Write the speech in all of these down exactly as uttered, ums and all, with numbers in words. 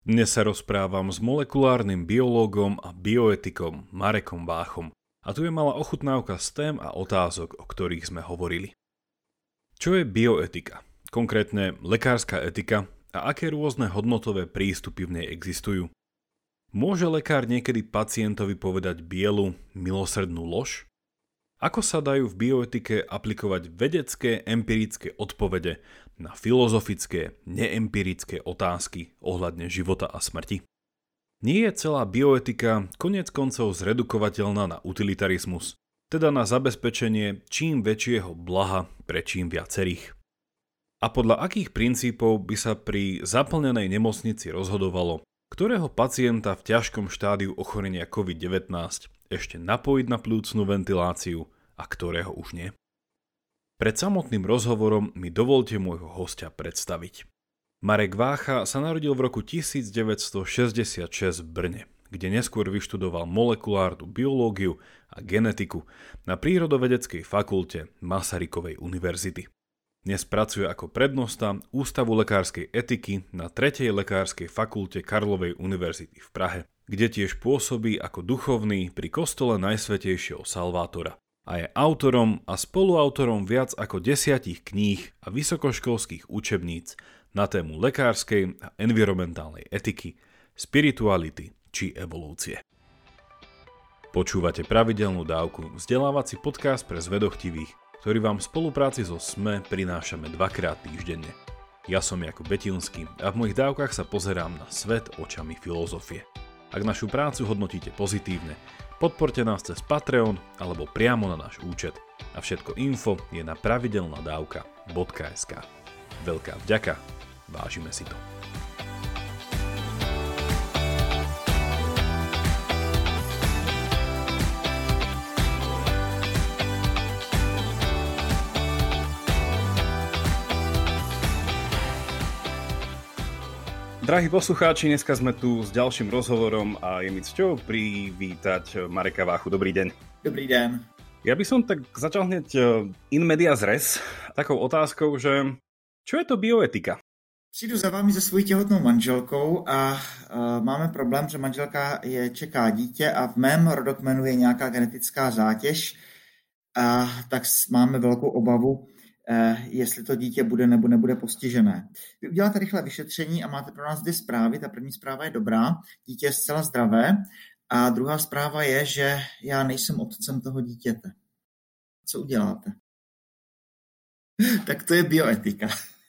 Dnes sa rozprávam s molekulárnym biológom a bioetikom Marekom Váchom. A tu je malá ochutnávka z tém a otázok, o ktorých sme hovorili. Čo je bioetika? Konkrétne lekárska etika a aké rôzne hodnotové prístupy v nej existujú? Môže lekár niekedy pacientovi povedať bielu, milosrdnú lož? Ako sa dajú v bioetike aplikovať vedecké, empirické odpovede na filozofické, neempirické otázky ohľadne života a smrti? Nie je celá bioetika koniec koncov zredukovateľná na utilitarizmus, teda na zabezpečenie čím väčšieho blaha pre čím viacerých? A podľa akých princípov by sa pri zaplnenej nemocnici rozhodovalo, ktorého pacienta v ťažkom štádiu ochorenia covid devätnásť ešte napojiť na pľúcnu ventiláciu a ktorého už nie? Pred samotným rozhovorom mi dovolte môjho hostia predstaviť. Marek Vácha sa narodil v roku devätnásťstošesťdesiatšesť v Brne, kde neskôr vyštudoval molekulárnu biológiu a genetiku na Prírodovedeckej fakulte Masarykovej univerzity. Dnes pracuje ako prednosta Ústavu lekárskej etiky na tretej lekárskej fakulte Karlovej univerzity v Prahe, kde tiež pôsobí ako duchovný pri kostole Najsvätejšieho Salvátora a je autorom a spoluautorom viac ako desiatich kníh a vysokoškolských učebníc na tému lekárskej a environmentálnej etiky, spirituality či evolúcie. Počúvate pravidelnú dávku, vzdelávací podcast pre zvedochtivých, ktorý vám v spolupráci so es em e prinášame dvakrát týždenne. Ja som Jakub Betinský a v mojich dávkach sa pozerám na svet očami filozofie. Ak našu prácu hodnotíte pozitívne, podporte nás cez Patreon alebo priamo na náš účet. A všetko info je na pravidelnadavka bodka es ká. Veľká vďaka, vážime si to. Drahí poslucháči, dneska sme tu s ďalším rozhovorom a je mi cťou privítať Mareka Váchu. Dobrý deň. Dobrý den. Ja by som tak začal hneď in medias res takou otázkou, že čo je to bioetika? Přijdu za vámi se svojí těhotnou manželkou a uh, máme problém, že manželka je čeká dítě a v mém rodokmenu je nějaká genetická zátěž a tak máme velkou obavu, jestli to dítě bude nebo nebude postižené. Vy uděláte rychlé vyšetření a máte pro nás dvě zprávy. Ta první zpráva je dobrá, dítě je zcela zdravé a druhá zpráva je, že já nejsem otcem toho dítěte. Co uděláte? Tak to je bioetika.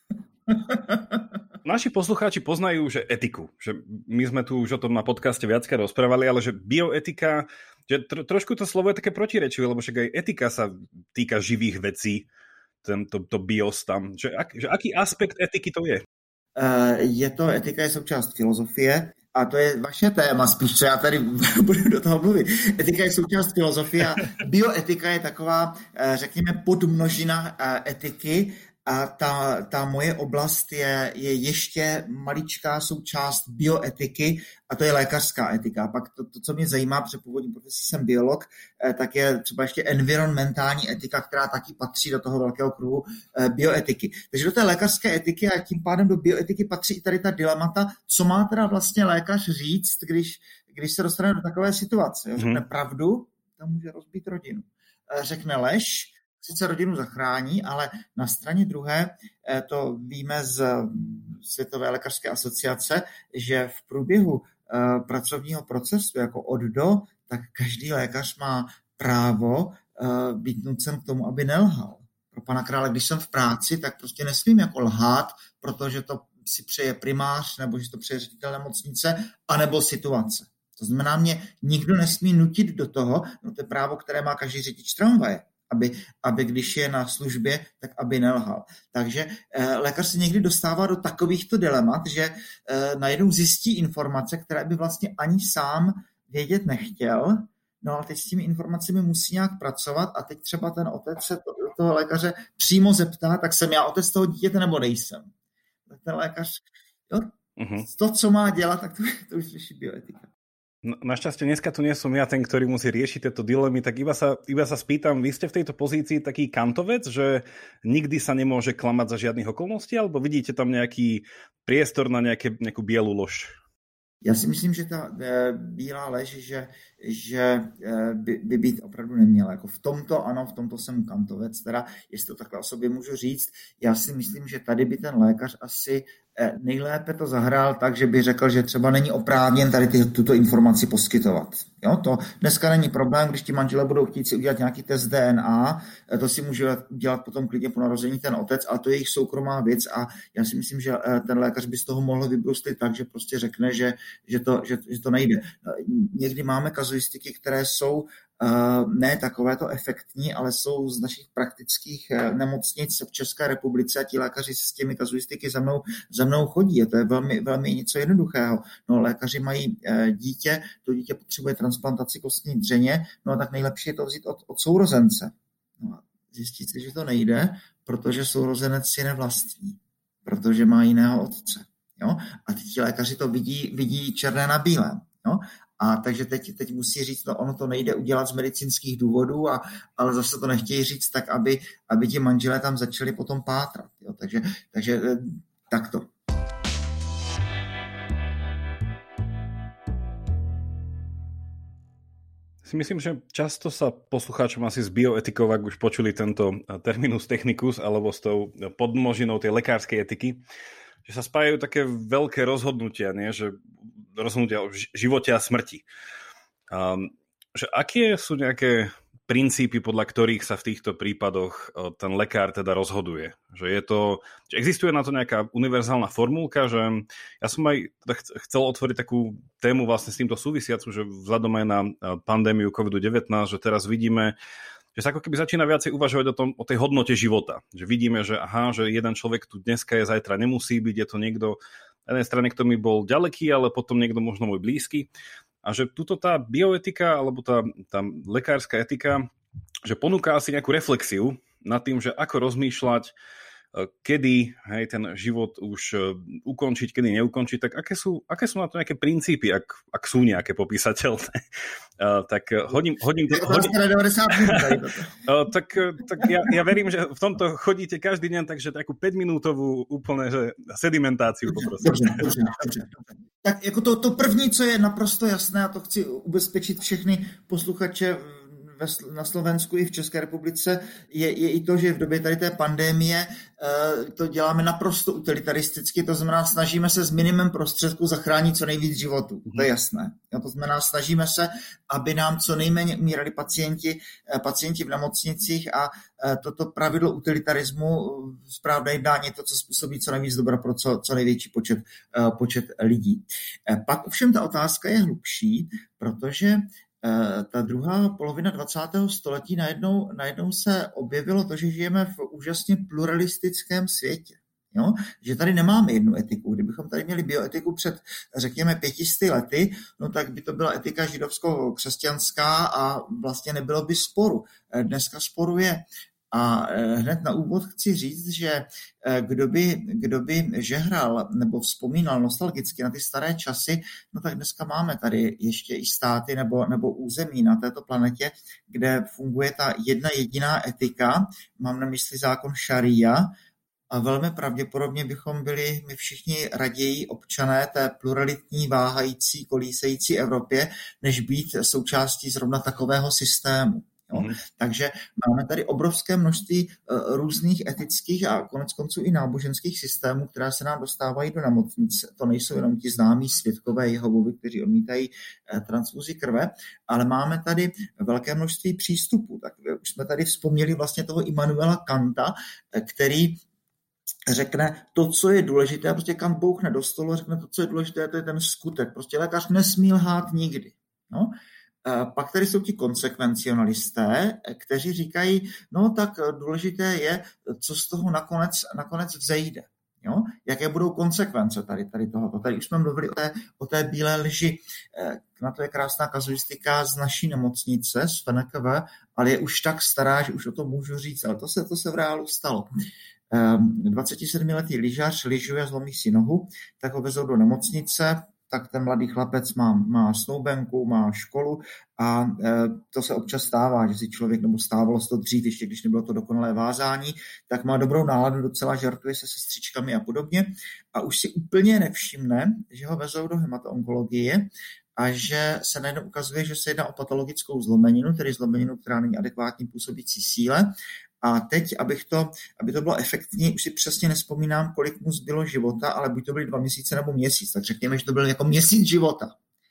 Naši poslucháči poznajú, že etiku, že my sme tu už o tom na podcaste viackrát rozprávali, ale že bioetika, že tro, trošku to slovo je také protirečivé, lebo však aj etika sa týka živých vecí, tento to bios tam. Že, ak, že aký aspekt etiky to je? Uh, je to, etika je součást filozofie a to je vaše téma spíš, co já tady budu do toho mluvit. Etika je součást filozofie a bioetika je taková, řekněme, podmnožina etiky a ta, ta moje oblast je, je ještě maličká součást bioetiky a to je lékařská etika. Pak to, to co mě zajímá, protože původní profesí jsem biolog, tak je třeba ještě environmentální etika, která taky patří do toho velkého kruhu bioetiky. Takže do té lékařské etiky a tím pádem do bioetiky patří i tady ta dilemata, co má teda vlastně lékař říct, když, když se dostane do takové situace. Řekne hmm. pravdu, to může rozbít rodinu. Řekne lež, sice rodinu zachrání, ale na straně druhé to víme z Světové lékařské asociace, že v průběhu pracovního procesu jako od do, tak každý lékař má právo být nucen k tomu, aby nelhal. Pro pana krále, když jsem v práci, tak prostě nesmím jako lhát, protože to si přeje primář, nebo že to přeje ředitel nemocnice, anebo situace. To znamená, mě nikdo nesmí nutit do toho, no to je právo, které má každý řidič tramvaje. Aby, aby když je na službě, tak aby nelhal. Takže eh, lékař se někdy dostává do takovýchto dilemat, že eh, najednou zjistí informace, které by vlastně ani sám vědět nechtěl, no ale teď s těmi informacemi musí nějak pracovat a teď třeba ten otec se to, toho lékaře přímo zeptá, tak jsem já otec toho dítěte nebo nejsem. Tak ten lékař, jo, uh-huh. to, co má dělat, tak to, to už řeší bioetika. No, našťastie dneska tu nie som ja ten, ktorý musí riešiť tieto dilemy, tak iba sa, iba sa spýtam, vy ste v tejto pozícii taký kantovec, že nikdy sa nemôže klamať za žiadnych okolností, alebo vidíte tam nejaký priestor na nejaké, nejakú bielu lož? Já si myslím, že ta e, bílá lež, že, že e, by, by být opravdu neměla. Jako v tomto, ano, v tomto jsem kantovec, teda, jestli to takhle o sobě můžu říct. Já si myslím, že tady by ten lékař asi e, nejlépe to zahrál tak, že by řekl, že třeba není oprávněn tady ty, tuto informaci poskytovat. Jo, to dneska není problém, když ti manželé budou chtít si udělat nějaký test D N A, e, to si může udělat potom klidně po narození ten otec, ale to je jejich soukromá věc a já si myslím, že e, ten lékař by z toho mohl vybruslit tak, že prostě řekne, že Že to, že, že to nejde. Někdy máme kazuistiky, které jsou uh, ne takovéto efektní, ale jsou z našich praktických uh, nemocnic v České republice a ti lékaři s těmi kazuistiky za mnou, za mnou chodí. A to je velmi, velmi něco jednoduchého. No, lékaři mají uh, dítě, to dítě potřebuje transplantaci kostní dřeně, no a tak nejlepší je to vzít od, od sourozence. No a zjistit si, že to nejde, protože sourozenec si nevlastní, protože má jiného otce. Jo? A teď ti lékaři to vidí, vidí černé na bílém. Jo? A takže teď, teď musí říct, no ono to nejde udělat z medicínských důvodů, a, ale zase to nechtějí říct tak, aby, aby ti manželé tam začali potom pátrat. Jo? Takže, takže takto. Si myslím, že často sa poslucháčom asi z bioetikov, ak už počuli tento terminus technicus, alebo s tou podmnožinou tej lekárskej etiky, že sa spájajú také veľké rozhodnutia, nie? Že rozhodnutia o živote a smrti. Um, že aké sú nejaké princípy, podľa ktorých sa v týchto prípadoch ten lekár teda rozhoduje? Že je to, že existuje na to nejaká univerzálna formulka, že ja som aj teda chcel otvoriť takú tému vlastne s týmto súvisiacu, že vzhľadom aj na pandémiu kovid devätnásť, že teraz vidíme, že sa ako keby začína viacej uvažovať o tom, o tej hodnote života. Že vidíme, že aha, že jeden človek tu dneska je, zajtra nemusí byť, je to niekto na jednej strane, kto mi bol ďaleký, ale potom niekto možno môj blízky. A že tuto tá bioetika, alebo tá, tá lekárska etika, že ponúka asi nejakú reflexiu nad tým, že ako rozmýšľať, kedy hej, ten život už ukončiť, kedy neukončiť, tak aké sú, aké sú na to nejaké princípy, ak, ak sú nejaké popísateľné. Uh, tak hodím, hodím to... Hodím, uh, tak tak ja, ja verím, že v tomto chodíte každý deň, takže takú päťminútovú úplne že sedimentáciu poprosím. Dobře, dobře, dobře. Tak jako to, to první, co je naprosto jasné, a to chci ubezpečit všechny posluchače na Slovensku i v České republice, je, je i to, že v době tady té pandémie to děláme naprosto utilitaristicky, to znamená, snažíme se s minimem prostředků zachránit co nejvíc životů. To je jasné. To znamená, snažíme se, aby nám co nejméně umírali pacienti, pacienti v nemocnicích a toto pravidlo utilitarismu, správné jednání je to, co způsobí co nejvíc dobra pro co, co největší počet, počet lidí. Pak ovšem ta otázka je hlubší, protože ta druhá polovina dvacátého století najednou, najednou se objevilo to, že žijeme v úžasně pluralistickém světě. Jo? Že tady nemáme jednu etiku. Kdybychom tady měli bioetiku před, řekněme, pětisty lety, no tak by to byla etika židovsko-křesťanská a vlastně nebylo by sporu. Dneska sporu je. A hned na úvod chci říct, že kdo by, kdo by žehral nebo vzpomínal nostalgicky na ty staré časy, no tak dneska máme tady ještě i státy nebo, nebo území na této planetě, kde funguje ta jedna jediná etika, mám na mysli zákon šaria, a velmi pravděpodobně bychom byli my všichni raději občané té pluralitní, váhající, kolísející Evropě, než být součástí zrovna takového systému. Jo? Mm. Takže máme tady obrovské množství uh, různých etických a konec konců i náboženských systémů, které se nám dostávají do nemocnic. To nejsou jenom ti známí svědkové Jehovovi, kteří odmítají uh, transfuzi krve, ale máme tady velké množství přístupů. Tak už jsme tady vzpomněli vlastně toho Immanuela Kanta, který řekne to, co je důležité, prostě Kant bouchne do stolu a řekne to, co je důležité, to je ten skutek. Prostě lékař nesmí lhát nikdy. No? Pak tady jsou ti konsekvencionalisté, kteří říkají, no tak důležité je, co z toho nakonec, nakonec vzejde. Jo? Jaké budou konsekvence tady, tady tohoto. Tady už jsme mluvili o té, o té bílé lži. Na to je krásná kazuistika z naší nemocnice, z F N K V, ale je už tak stará, že už o tom můžu říct, ale to se, to se v reálu stalo. dvacetisedmiletý lyžař lyžuje, zlomí si nohu, tak ho vezou do nemocnice, tak ten mladý chlapec má, má snoubenku, má školu a e, to se občas stává, že si člověk, nebo stávalo se to dřív, ještě když nebylo to dokonalé vázání, tak má dobrou náladu, docela žartuje se sestřičkami a podobně a už si úplně nevšimne, že ho vezou do hematoonkologie a že se najednou ukazuje, že se jedná o patologickou zlomeninu, tedy zlomeninu, která není adekvátní působící síle. A teď, abych to, aby to bylo efektní, už si přesně nespomínám, kolik mu zbylo života, ale buď to byly dva měsíce nebo měsíc, tak řekněme, že to byl jako měsíc života.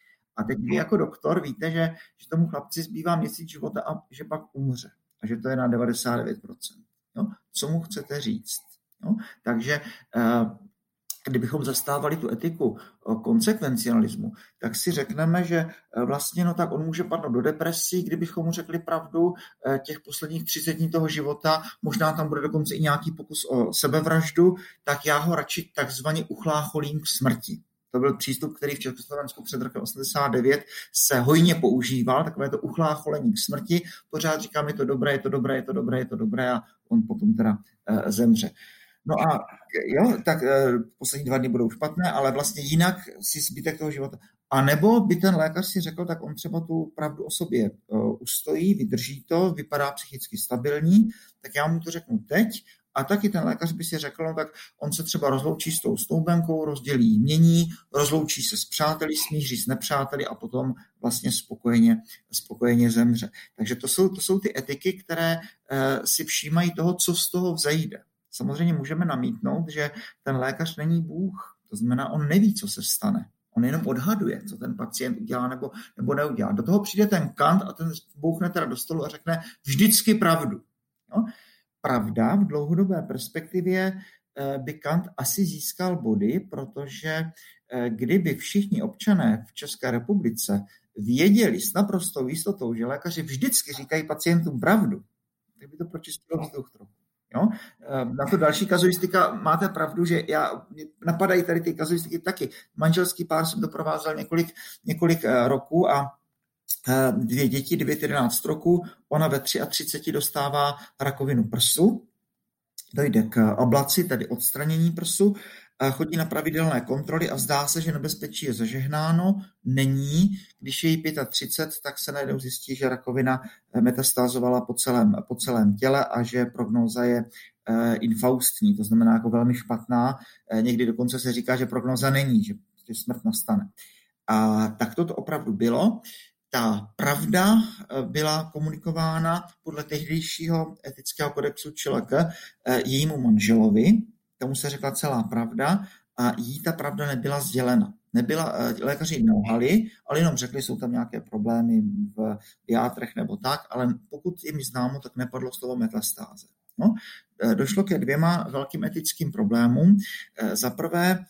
A teď vy jako doktor víte, že, že tomu chlapci zbývá měsíc života a že pak umře. A že to je na devadesát devět procent. Jo? Co mu chcete říct? Jo? Takže uh, kdybychom zastávali tu etiku konsekvencialismu, tak si řekneme, že vlastně no tak on může padnout do depresí, kdybychom mu řekli pravdu těch posledních třicet dní toho života, možná tam bude dokonce i nějaký pokus o sebevraždu, tak já ho radši takzvaně uchlácholím k smrti. To byl přístup, který v Československu před rokem osmdesát devět se hojně používal, takové to uchlácholení k smrti. Pořád říkám, je to dobré, je to dobré, je to dobré, je to dobré a on potom teda e, zemře. No a jo, tak e, poslední dva dny budou špatné, ale vlastně jinak si zbytek toho života. A nebo by ten lékař si řekl, tak on třeba tu pravdu o sobě e, ustojí, vydrží to, vypadá psychicky stabilní, tak já mu to řeknu teď. A taky ten lékař by si řekl, no tak on se třeba rozloučí s tou snoubenkou, rozdělí jmění, rozloučí se s přáteli, smíří s nepřáteli a potom vlastně spokojeně, spokojeně zemře. Takže to jsou, to jsou ty etiky, které e, si všímají toho, co z toho vzejde. Samozřejmě můžeme namítnout, že ten lékař není Bůh. To znamená, on neví, co se stane. On jenom odhaduje, co ten pacient udělá nebo, nebo neudělá. Do toho přijde ten Kant a ten bouchne teda do stolu a řekne vždycky pravdu. No? Pravda v dlouhodobé perspektivě by Kant asi získal body, protože kdyby všichni občané v České republice věděli s naprostou jistotou, že lékaři vždycky říkají pacientům pravdu, tak by to pročistilo vzduch trochu. Jo? Na to další kazuistika, máte pravdu, že já, napadají tady ty kazuistiky taky. Manželský pár jsem doprovázel několik, několik roků a dvě děti, devět jedenáct roku, ona ve třiceti tři dostává rakovinu prsu, dojde k ablaci, tedy odstranění prsu, chodí na pravidelné kontroly a zdá se, že nebezpečí je zažehnáno, není. Když je jí třicet pět, tak se najednou zjistí, že rakovina metastázovala po celém, po celém těle a že prognóza je infaustní, to znamená jako velmi špatná. Někdy dokonce se říká, že prognóza není, že smrt nastane. A tak to opravdu bylo. Ta pravda byla komunikována podle tehdejšího etického kodexu ČLK jejímu manželovi, tomu se řekla celá pravda a jí ta pravda nebyla sdělena. Nebyla, lékaři nelhali, ale jenom řekli, jsou tam nějaké problémy v játrech nebo tak, ale pokud je mi známo, tak nepadlo slovo metastáze. No, došlo ke dvěma velkým etickým problémům. Za prvé,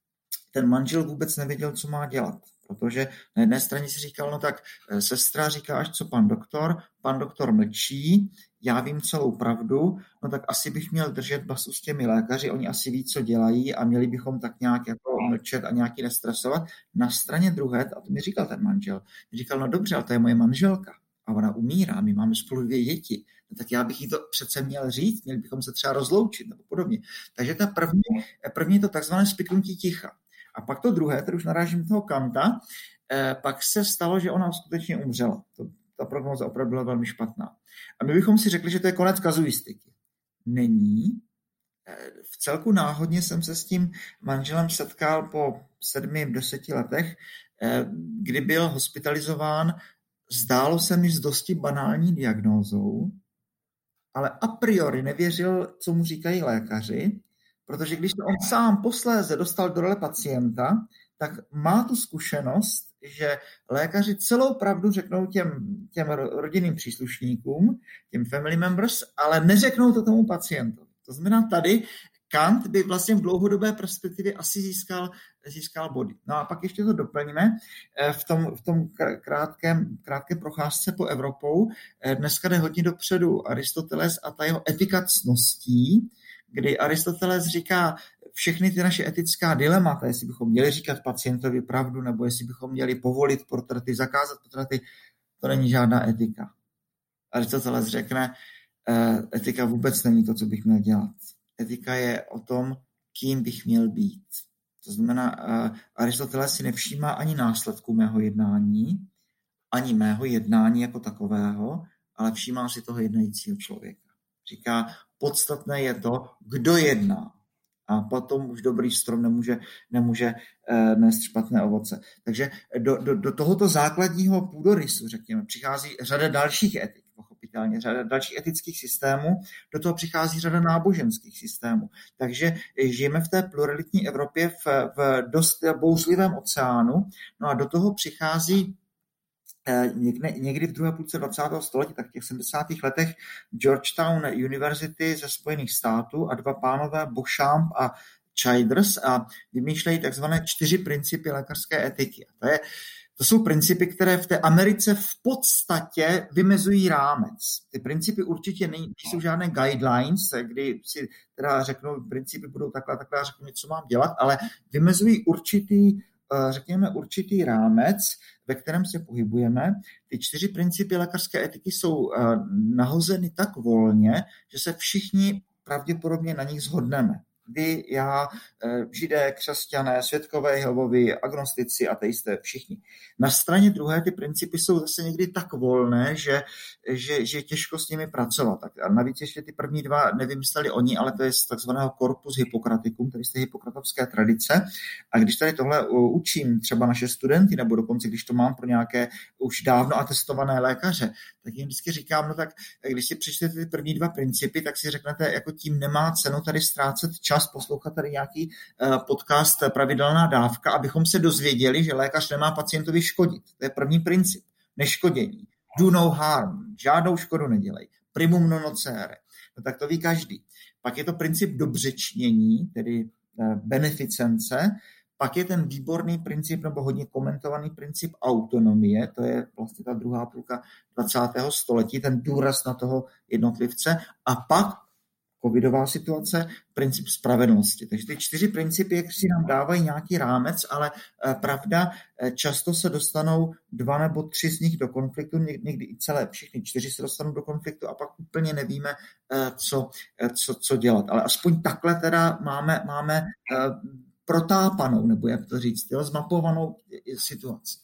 ten manžel vůbec nevěděl, co má dělat. Protože na jedné straně si říkal, no tak sestra říká, až co pan doktor, pan doktor mlčí, já vím celou pravdu, no tak asi bych měl držet basu s těmi lékaři, oni asi ví, co dělají a měli bychom tak nějak jako mlčet a nějaký nestresovat. Na straně druhé, a to mi říkal ten manžel, mi říkal, no dobře, ale to je moje manželka a ona umírá, my máme spolu dvě děti, no tak já bych jí to přece měl říct, měli bychom se třeba rozloučit nebo podobně. Takže ta první, první je to takzvané spiknutí ticha. A pak to druhé, tedy už narážím toho Kanta, eh, pak se stalo, že ona skutečně umřela. To, ta prognóza opravdu byla velmi špatná. A my bychom si řekli, že to je konec kazuistiky. Není. Eh, v celku náhodně jsem se s tím manželem setkal po sedmi, deseti letech, eh, kdy byl hospitalizován. Zdálo se mi s dosti banální diagnózou, ale a priori nevěřil, co mu říkají lékaři, protože když to on sám posléze dostal do role pacienta, tak má tu zkušenost, že lékaři celou pravdu řeknou těm, těm rodinným příslušníkům, těm family members, ale neřeknou to tomu pacientovi. To znamená, tady Kant by vlastně v dlouhodobé perspektivě asi získal, získal body. No a pak ještě to doplníme v tom, v tom krátkém, krátké procházce po Evropou. Dneska jde hodně dopředu Aristoteles a ta jeho etika ctností, kdy Aristoteles říká všechny ty naše etická dilemata, jestli bychom měli říkat pacientovi pravdu, nebo jestli bychom měli povolit portrety, zakázat portrety, to není žádná etika. Aristoteles řekne, etika vůbec není to, co bych měl dělat. Etika je o tom, kým bych měl být. To znamená, Aristoteles si nevšímá ani následků mého jednání, ani mého jednání jako takového, ale všímá si toho jednajícího člověka. Říká, podstatné je to, kdo jedná. A potom už dobrý strom nemůže, nemůže eh, nést špatné ovoce. Takže do, do, do tohoto základního půdorysu, řekněme, přichází řada dalších etik, pochopitelně, řada dalších etických systémů, do toho přichází řada náboženských systémů. Takže žijeme v té pluralitní Evropě v, v dost bouřlivém oceánu, no a do toho přichází Někde, někdy v druhé půlce dvacátého století, tak v těch sedmdesátých letech Georgetown University ze Spojených států a dva pánové Beauchamp a Childers a vymýšlejí takzvané čtyři principy lékařské etiky. To, je, to jsou principy, které v té Americe v podstatě vymezují rámec. Ty principy určitě nejsou žádné guidelines, kdy si teda řeknou, principy budou takhle, takhle a řeknu, co mám dělat, ale vymezují určitý řekněme, určitý rámec, ve kterém se pohybujeme. Ty čtyři principy lékařské etiky jsou nahozeny tak volně, že se všichni pravděpodobně na nich shodneme. Vy, já, židé, křesťané, svědkové Jehovovi, agnostici, ateisté, všichni. Na straně druhé ty principy jsou zase někdy tak volné, že, že, že těžko s nimi pracovat. A navíc ještě ty první dva nevymysleli oni, ale to je z takzvaného corpus Hippocraticum, tedy z té hippokratovské tradice. A když tady tohle učím třeba naše studenty, nebo dokonce když to mám pro nějaké už dávno atestované lékaře, tak jim vždycky říkám, no tak když si přečtete ty první dva principy, tak si řeknete, jako tím nemá cenu tady ztrácet čas poslouchat tady nějaký podcast Pravidelná dávka, abychom se dozvěděli, že lékař nemá pacientovi škodit. To je první princip. Neškodění. Do no harm. Žádnou škodu nedělej. Primum non nocere. No tak to ví každý. Pak je to princip dobřečnění, tedy beneficence. Pak je ten výborný princip, nebo hodně komentovaný princip autonomie, to je vlastně ta druhá půlka dvacátého století, ten důraz na toho jednotlivce. A pak covidová situace, princip spravedlnosti. Takže ty čtyři principy, jak si nám dávají nějaký rámec, ale pravda, často se dostanou dva nebo tři z nich do konfliktu, někdy i celé, všichni čtyři se dostanou do konfliktu a pak úplně nevíme, co, co, co dělat. Ale aspoň takhle teda máme, máme protápanou, nebo jak to říct, jo, zmapovanou situaci.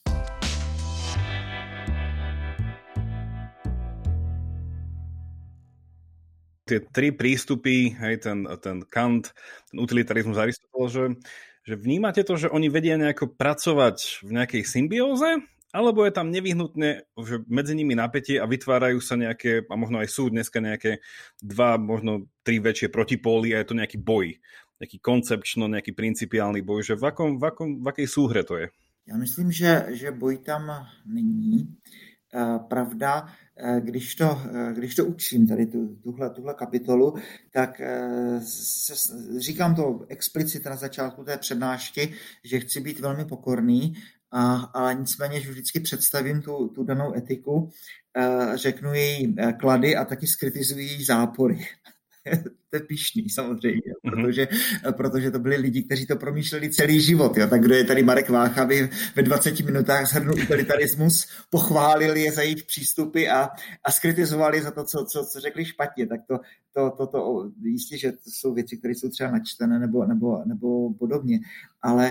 Tie tri prístupy, hej, ten, ten Kant, ten utilitarizmus Aristoteles, že, že vnímate to, že oni vedia nejako pracovať v nejakej symbióze, alebo je tam nevyhnutne, že medzi nimi napätie a vytvárajú sa nejaké, a možno aj sú dneska nejaké dva, možno tri väčšie protipóly a je to nejaký boj, nejaký koncepčno, nejaký principiálny boj, že v, akom, v, akom, v akej súhre to je? Já myslím, že, že boj tam není. Pravda, když to, když to učím, tady tu, tuhle, tuhle kapitolu, tak se, říkám to explicitně na začátku té přednášky, že chci být velmi pokorný, a, ale nicméně, že vždycky představím tu, tu danou etiku, řeknu její klady a taky skritizuji její zápory. To je pyšný samozřejmě, mm-hmm. protože, protože to byli lidi, kteří to promýšleli celý život. Jo. Tak kdo je tady Marek Vácha, aby ve dvaceti minutách shrnul utilitarismus, pochválili je za jejich přístupy a, a skritizovali za to, co, co, co řekli špatně. Tak to, to, to, to jistě, že to jsou věci, které jsou třeba načtené nebo, nebo, nebo podobně. Ale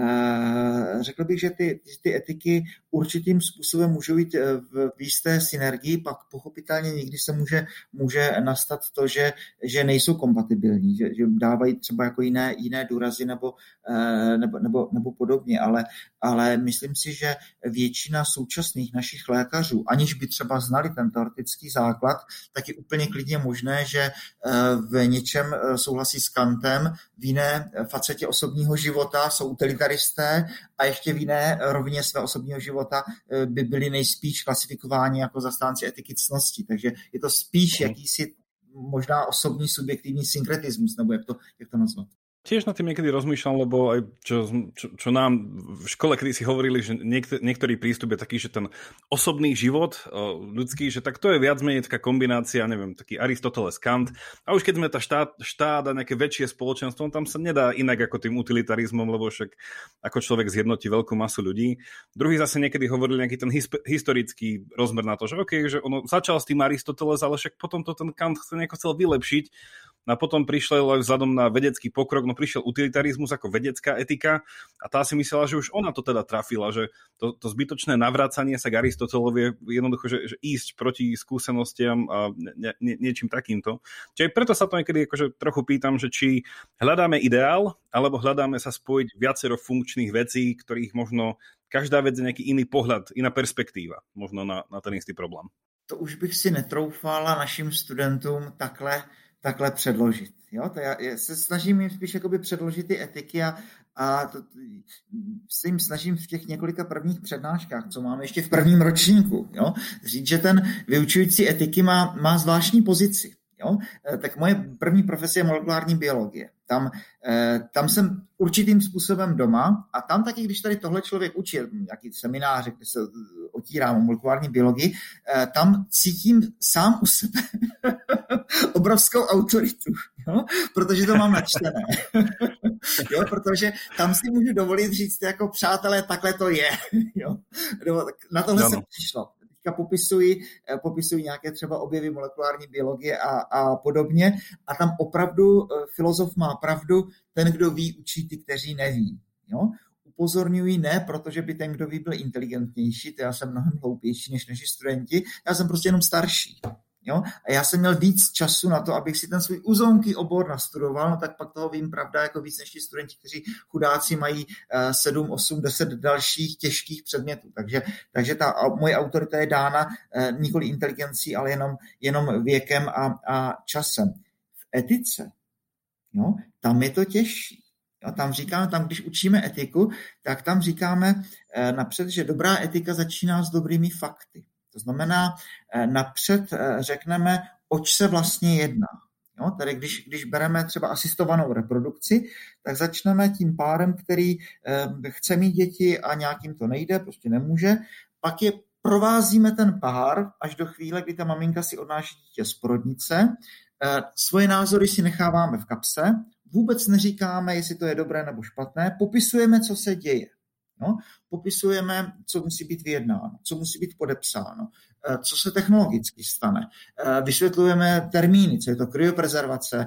uh, řekl bych, že ty, ty etiky určitým způsobem můžou jít v, v jisté synergii, pak pochopitelně někdy se může, může nastat to, že, že nejsou kompatibilní, že, že dávají třeba jako jiné, jiné důrazy nebo, nebo, nebo, nebo podobně, ale, ale myslím si, že většina současných našich lékařů, aniž by třeba znali ten teoretický základ, tak je úplně klidně možné, že v něčem souhlasí s Kantem, v jiné facetě osobního života jsou utilitaristé a ještě v jiné rovině svého osobního života by byli nejspíš klasifikováni jako zastánci etiky ctnosti. Takže je to spíš jakýsi možná osobní subjektivní synkretismus, nebo jak to, jak to nazvat. Tiež nad tým niekedy rozmýšľam, lebo aj čo, čo, čo nám v škole kedy si hovorili, že niektor, niektorý prístup je taký, že ten osobný život ľudský, že tak to je viac menej taká kombinácia, neviem, taký Aristoteles, Kant. A už keď sme tá štát, štát a nejaké väčšie spoločenstvo, tam sa nedá inak ako tým utilitarizmom, lebo však ako človek zjednotí veľkú masu ľudí. Druhý zase niekedy hovorili nejaký ten his, historický rozmer na to, že okej, okay, že ono začal s tým Aristoteles, ale však potom to ten Kant nejako chcel vylepšiť. A potom prišlo aj vzhľadom na vedecký pokrok, no ono prišiel utilitarizmus ako vedecká etika a tá si myslela, že už ona to teda trafila, že to, to zbytočné navracanie sa k Aristotelovi je jednoducho, že, že ísť proti skúsenostiam a nie, nie, niečím takýmto. Čiže preto sa to niekedy akože trochu pýtam, že či hľadáme ideál, alebo hľadáme sa spojiť viacero funkčných vecí, ktorých možno každá vec je nejaký iný pohľad, iná perspektíva možno na, na ten istý problém. To už bych si netroufala našim studentům takhle, takhle předložit. Jo? To já, já se snažím jim spíš jakoby předložit ty etiky a, a to, se jim snažím v těch několika prvních přednáškách, co máme ještě v prvním ročníku, jo? Říct, že ten vyučující etiky má, má zvláštní pozici. Jo? Tak moje první profesie je molekulární biologie. Tam, tam jsem určitým způsobem doma a tam taky, když tady tohle člověk učí, nějaký seminář, kde se otírám o molekulární biologii, tam cítím sám u sebe obrovskou autoritu, jo? Protože to mám načtené. Jo? Protože tam si můžu dovolit říct, jako přátelé, takhle to je. Jo? Na tohle no, no. se přišlo. Popisují, popisují nějaké třeba objevy molekulární biologie a, a podobně. A tam opravdu filozof má pravdu, ten, kdo ví, učí ty, kteří neví. Jo? Upozorňují ne, protože by ten, kdo ví, byl inteligentnější, to já jsem mnohem hloupější než naši studenti, já jsem prostě jenom starší. Jo? A já jsem měl víc času na to, abych si ten svůj uzonký obor nastudoval, no tak pak toho vím, pravda, jako víc než ti studenti, kteří chudáci mají sedm, osm, deset dalších těžkých předmětů. Takže, takže ta moje autorita je dána nikoli inteligencí, ale jenom, jenom věkem a, a časem. V etice, jo, tam je to těžší. Jo, tam říkáme, tam když učíme etiku, tak tam říkáme napřed, že dobrá etika začíná s dobrými fakty. To znamená, napřed řekneme, oč se vlastně jedná. Jo? Tady když, když bereme třeba asistovanou reprodukci, tak začneme tím párem, který chce mít děti a nějakým to nejde, prostě nemůže. Pak je provázíme ten pár až do chvíle, kdy ta maminka si odnáší dítě z porodnice. Svoje názory si necháváme v kapse, vůbec neříkáme, jestli to je dobré nebo špatné, popisujeme, co se děje. No, popisujeme, co musí být vyjednáno, co musí být podepsáno, co se technologicky stane. Vysvětlujeme termíny, co je to kryoprezervace,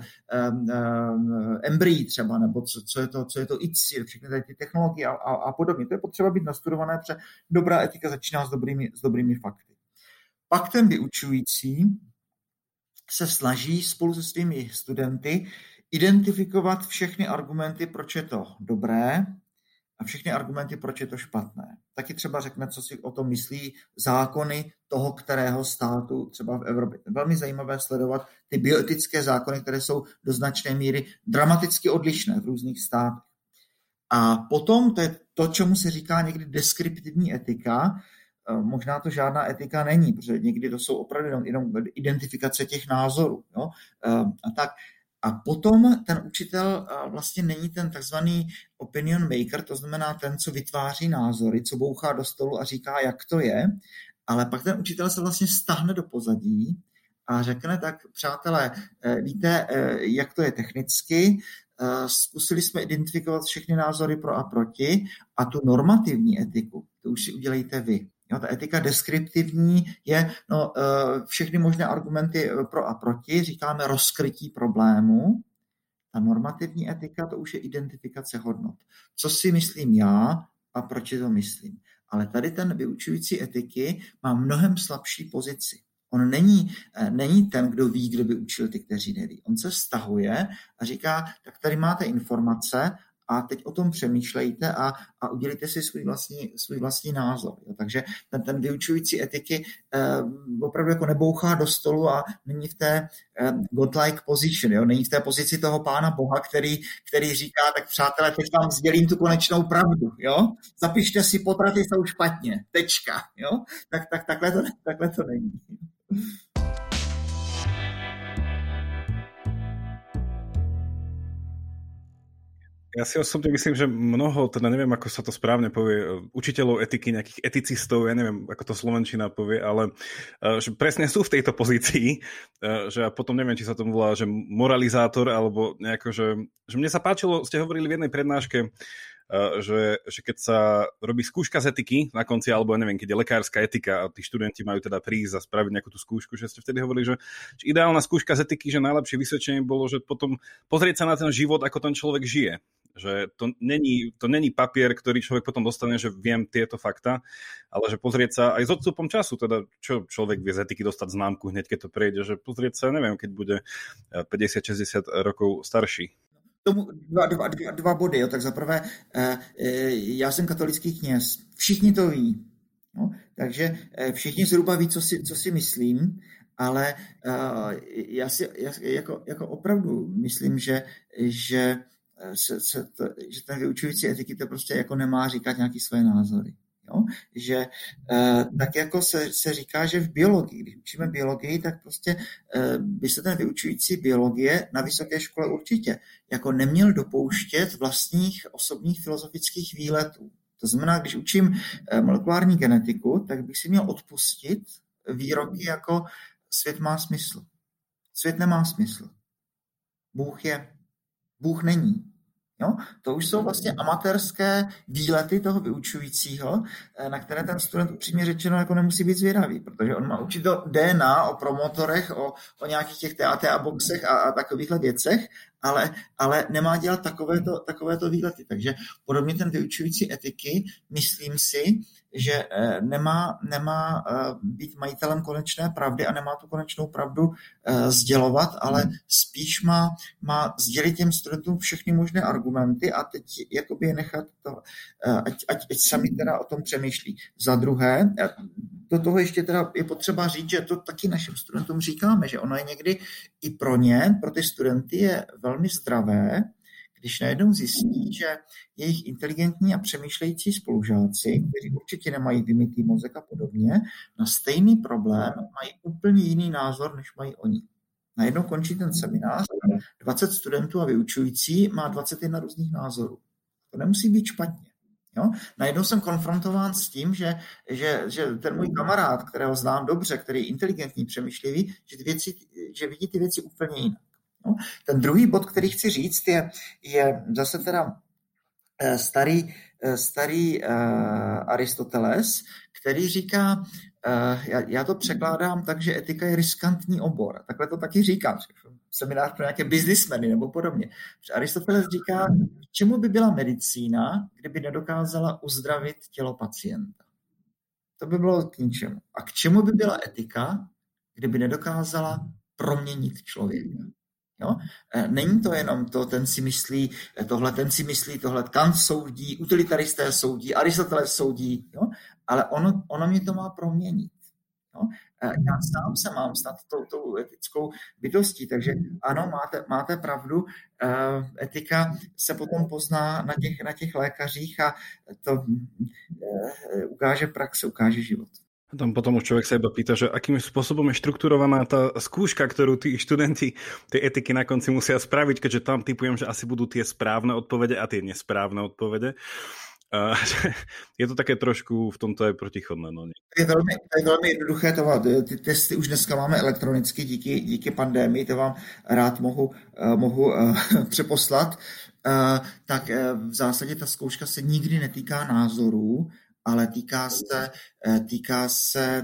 embryí třeba, nebo co, co je to, co je to I C I, všechny ty technologie a, a, a podobně. To je potřeba být nastudované, protože dobrá etika začíná s dobrými, s dobrými fakty. Pak ten vyučující se snaží spolu se svými studenty identifikovat všechny argumenty, proč je to dobré, a všechny argumenty, proč je to špatné. Taky třeba řekne, co si o tom myslí zákony toho, kterého státu třeba v Evropě. Je velmi zajímavé sledovat ty bioetické zákony, které jsou do značné míry dramaticky odlišné v různých státech. A potom, to je to, čemu se říká někdy deskriptivní etika, možná to žádná etika není, protože někdy to jsou opravdu jenom, jenom identifikace těch názorů. Jo? A tak. A potom ten učitel vlastně není ten takzvaný opinion maker, to znamená ten, co vytváří názory, co bouchá do stolu a říká, jak to je, ale pak ten učitel se vlastně stáhne do pozadí a řekne, tak přátelé, víte, jak to je technicky, zkusili jsme identifikovat všechny názory pro a proti a tu normativní etiku, to už si udělejte vy. Jo, ta etika deskriptivní je no, všechny možné argumenty pro a proti, říkáme rozkrytí problému. Ta normativní etika, to už je identifikace hodnot. Co si myslím já a proč to myslím. Ale tady ten vyučující etiky má mnohem slabší pozici. On není, není ten, kdo ví, kdo by učil ty, kteří neví. On se vztahuje a říká, tak tady máte informace, a teď o tom přemýšlejte a, a udělejte si svůj vlastní, svůj vlastní názor. Jo. Takže ten, ten vyučující etiky eh, opravdu jako nebouchá do stolu a není v té eh, godlike position, jo. Není v té pozici toho pána Boha, který, který říká, tak přátelé, teď vám sdělím tu konečnou pravdu. Jo. Zapište si, potraty jsou špatně, tečka. Jo. Tak, tak takhle, to, takhle to není. Ja si osobne myslím, že mnoho, teda neviem, ako sa to správne povie, učiteľov etiky, nejakých eticistov, ja neviem, ako to slovenčina povie, ale že presne sú v tejto pozícii, že ja potom neviem, či sa tomu volá, že moralizátor, alebo nejako, že, že mne sa páčilo, ste hovorili v jednej prednáške, že, že keď sa robí skúška z etiky na konci, alebo neviem, keď je lekárska etika a tí študenti majú teda prísť a spraviť nejakú tú skúšku, že ste vtedy hovorili, že, že ideálna skúška z etiky, že najlepšie vysvedčenie bolo, že potom pozrieť sa na ten život, ako ten človek žije. Že to není, to není papier, ktorý človek potom dostane, že viem tieto fakta, ale že pozrieť sa aj s odstupom času, teda čo človek vie z etiky dostať známku hneď, keď to prejde, že pozrieť sa, neviem, keď bude päťdesiat šesťdesiat rokov starší. Tomu dva, dva, dva, dva body. Jo. Tak zaprvé, eh, já jsem katolický kněz. Všichni to ví. No, takže eh, všichni zhruba ví, co si, co si myslím, ale eh, já si já, jako, jako opravdu myslím, že, že Se, se to, že ten vyučující etiky to prostě jako nemá říkat nějaký své názory. Jo? Že eh, tak jako se, se říká, že v biologii, když učíme biologii, tak prostě eh, by se ten vyučující biologie na vysoké škole určitě jako neměl dopouštět vlastních osobních filozofických výletů. To znamená, když učím eh, molekulární genetiku, tak bych si měl odpustit výroky jako svět má smysl. Svět nemá smysl. Bůh je. Bůh není. Jo? To už jsou vlastně amatérské výlety toho vyučujícího, na které ten student upřímně řečeno jako nemusí být zvědavý, protože on má učit o D N A, o promotorech, o, o nějakých těch T A T A boxech a, a takovýchhle věcech, ale, ale nemá dělat takovéto, takovéto výlety. Takže podobně ten vyučující etiky, myslím si, že nemá, nemá být majitelem konečné pravdy a nemá tu konečnou pravdu sdělovat, ale spíš má, má sdělit těm studentům všechny možné argumenty a teď jakoby je nechat to, ať, ať, ať sami teda o tom přemýšlí. Za druhé, do toho ještě teda je potřeba říct, že to taky našim studentům říkáme, že ono je někdy i pro ně, pro ty studenty je velmi zdravé, když najednou zjistí, že jejich inteligentní a přemýšlející spolužáci, kteří určitě nemají vymytý mozek a podobně, na stejný problém mají úplně jiný názor, než mají oni. Najednou končí ten seminář, dvacet studentů a vyučující má dvacet jedna různých názorů. To nemusí být špatně. Jo? Najednou jsem konfrontován s tím, že, že, že ten můj kamarád, kterého znám dobře, který je inteligentní, přemýšlivý, že, ty věci, že vidí ty věci úplně jinak. No. Ten druhý bod, který chci říct, je, je zase teda starý, starý uh, Aristoteles, který říká, uh, já, já to překládám tak, že etika je riskantní obor. Takhle to taky říkám, seminář pro nějaké biznismeny nebo podobně. Aristoteles říká, k čemu by byla medicína, kdyby nedokázala uzdravit tělo pacienta. To by bylo k ničemu. A k čemu by byla etika, kdyby nedokázala proměnit člověka. Jo? Není to jenom to, ten si myslí tohle, ten si myslí tohle, Kant soudí, utilitaristé soudí, Aristoteles soudí, jo? Ale ono, ono mě to má proměnit. Jo? Já sám se mám stát tou, tou etickou bytostí, takže ano, máte, máte pravdu, etika se potom pozná na těch, na těch lékařích a to ukáže praxe, ukáže život. Tam potom už človek sa iba pýta, že akým spôsobom je štrukturovaná tá skúška, ktorú tí študenti tej etiky na konci musia spraviť, keďže tam typujem, že asi budú tie správne odpovede a tie nesprávne odpovede. Uh, je to také trošku v tomto aj protichodné. No nie? Je velmi, je velmi jednoduché, to, ty testy už dneska máme elektronicky díky, díky pandémii, to vám rád mohu, uh, mohu uh, přeposlat. Uh, tak uh, v zásadě ta zkouška se nikdy netýká názorů, ale týká se, týká se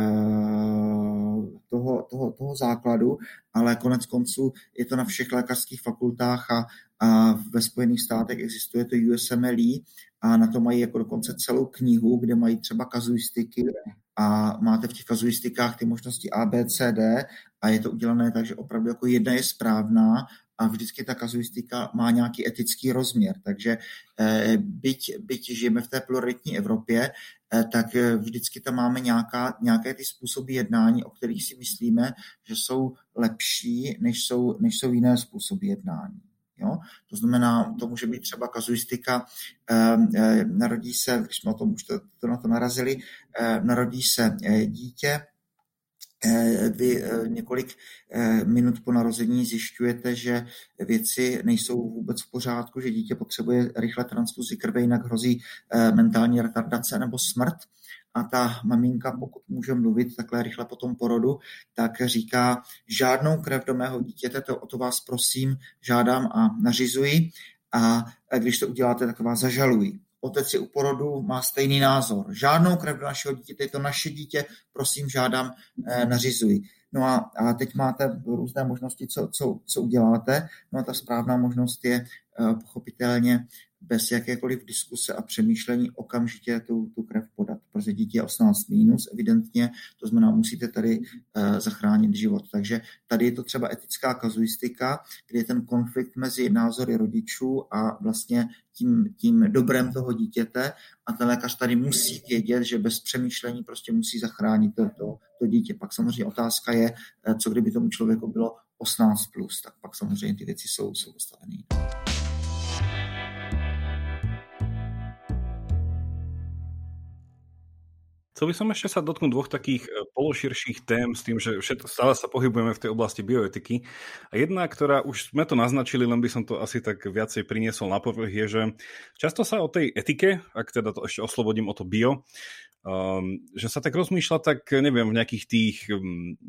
toho, toho, toho základu, ale konec konců je to na všech lékařských fakultách a, a ve Spojených státech existuje to U S M L E a na to mají jako dokonce celou knihu, kde mají třeba kazuistiky a máte v těch kazuistikách ty možnosti A, B, C, D a je to udělané tak, že opravdu jako jedna je správná a vždycky ta kazuistika má nějaký etický rozměr. Takže eh, byť, byť žijeme v té pluralitní Evropě, eh, tak vždycky tam máme nějaká, nějaké ty způsoby jednání, o kterých si myslíme, že jsou lepší, než jsou, než jsou jiné způsoby jednání. Jo? To znamená, to může být třeba kazuistika, eh, eh, narodí se, když jsme o tom už to, to na to narazili, eh, narodí se eh, dítě, vy několik minut po narození zjišťujete, že věci nejsou vůbec v pořádku, že dítě potřebuje rychle transfuzi krve, jinak hrozí mentální retardace nebo smrt. A ta maminka, pokud může mluvit takhle rychle po tom porodu, tak říká, žádnou krev do mého dítěte, to o to vás prosím, žádám a nařizuji. A když to uděláte, tak vás zažalují. Otec je u porodu, má stejný názor. Žádnou krev do našeho dítěte, je to naše dítě, prosím, žádám, nařizuji. No a, a teď máte různé možnosti, co, co, co uděláte. No a ta správná možnost je pochopitelně bez jakékoliv diskuse a přemýšlení okamžitě tu, tu krev podat, protože dítě je osmnáct mínus evidentně, to znamená, musíte tady uh, zachránit život. Takže tady je to třeba etická kazuistika, kde je ten konflikt mezi názory rodičů a vlastně tím, tím dobrem toho dítěte a ten lékař tady musí vědět, že bez přemýšlení prostě musí zachránit to, to, to dítě. Pak samozřejmě otázka je, co kdyby tomu člověku bylo osmnáct plus, tak pak samozřejmě ty věci jsou, jsou postavené. Chcel by som ešte sa dotknúť dvoch takých pološirších tém s tým, že všetko, stále sa pohybujeme v tej oblasti bioetiky. A jedna, ktorá už sme to naznačili, len by som to asi tak viacej priniesol na povrch, je, že často sa o tej etike, ak teda to ešte oslobodím o to bio, um, že sa tak rozmýšľa, tak neviem, v nejakých tých... Um,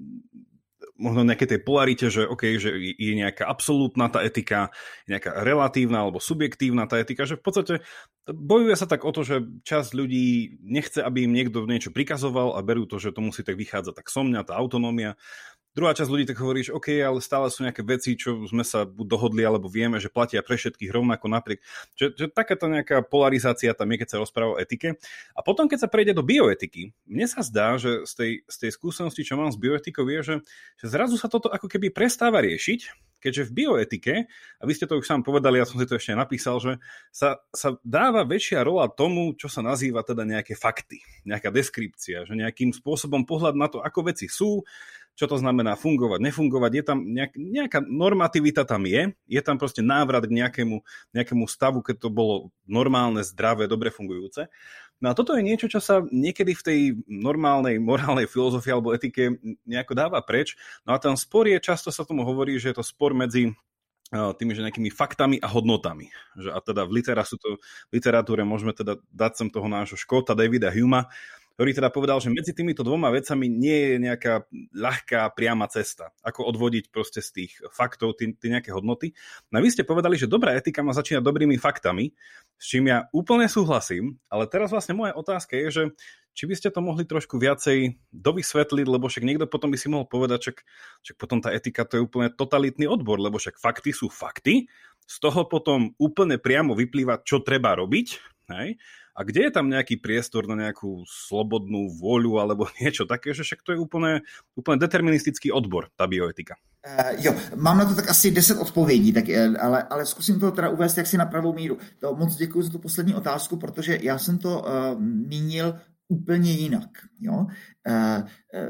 možno nejaké tej polarite, že OK, že je nejaká absolútna tá etika, nejaká relatívna alebo subjektívna tá etika, že v podstate bojuje sa tak o to, že časť ľudí nechce, aby im niekto niečo prikazoval a berú to, že to musí tak vychádzať tak so mňa, tá autonómia. Druhá časť ľudí tak hovorí, že OK, ale stále sú nejaké veci, čo sme sa buď dohodli, alebo vieme, že platia pre všetkých rovnako napriek. Že, že takáto nejaká polarizácia tam je, keď sa rozpráva o etike. A potom, keď sa prejde do bioetiky, mne sa zdá, že z tej, z tej skúsenosti, čo mám s bioetikou, je, že, že zrazu sa toto ako keby prestáva riešiť, keďže v bioetike, a vy ste to už sám povedali, ja som si to ešte napísal, že sa, sa dáva väčšia rola tomu, čo sa nazýva teda nejaké fakty, nejaká deskripcia, že nejakým spôsobom pohľad na to, ako veci sú, čo to znamená fungovať, nefungovať, je tam nejak, nejaká normativita tam je, je tam proste návrat k nejakému, nejakému stavu, keď to bolo normálne, zdravé, dobre fungujúce. No a toto je niečo, čo sa niekedy v tej normálnej morálnej filozofii alebo etike nejako dáva preč. No a ten spor je, často sa tomu hovorí, že je to spor medzi tými že nejakými faktami a hodnotami. Že a teda v, to, v literatúre môžeme teda dať sem toho nášho Škóta Davida Humea, ktorý teda povedal, že medzi týmito dvoma vecami nie je nejaká ľahká priama cesta. Ako odvodiť proste z tých faktov tie nejaké hodnoty. No a vy ste povedali, že dobrá etika má začínať dobrými faktami, s čím ja úplne súhlasím, ale teraz vlastne moja otázka je, že či by ste to mohli trošku viacej dovysvetliť, lebo však niekto potom by si mohol povedať, však, však potom tá etika to je úplne totalitný odbor, lebo však fakty sú fakty, z toho potom úplne priamo vyplýva, čo treba robiť, hej? A kde je tam nejaký priestor na nejakú slobodnú vôľu alebo niečo také, že však to je úplne, úplne deterministický odbor, tá bioetika? Uh, jo, mám na to tak asi deset odpovědí, tak, ale, ale zkusím to teda uvést jaksi na pravou míru. To moc děkuji za tu poslední otázku, protože já jsem to uh, mínil úplně jinak. Jo? E, e,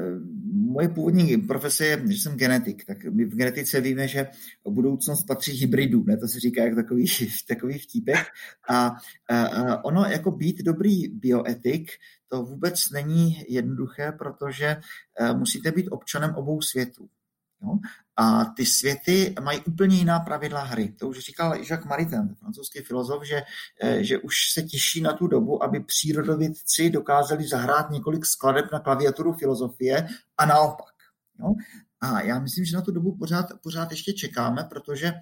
moje původní profese je, že jsem genetik, tak my v genetice víme, že budoucnost patří hybridům, ne? To se říká jako takový, takový vtípek. A e, ono jako být dobrý bioetik, to vůbec není jednoduché, protože e, musíte být občanem obou světů. Jo? A ty světy mají úplně jiná pravidla hry. To už říkal Jacques Maritain, francouzský filozof, že, že už se těší na tu dobu, aby přírodovědci dokázali zahrát několik skladeb na klaviaturu filozofie a naopak. Jo? A já myslím, že na tu dobu pořád, pořád ještě čekáme, protože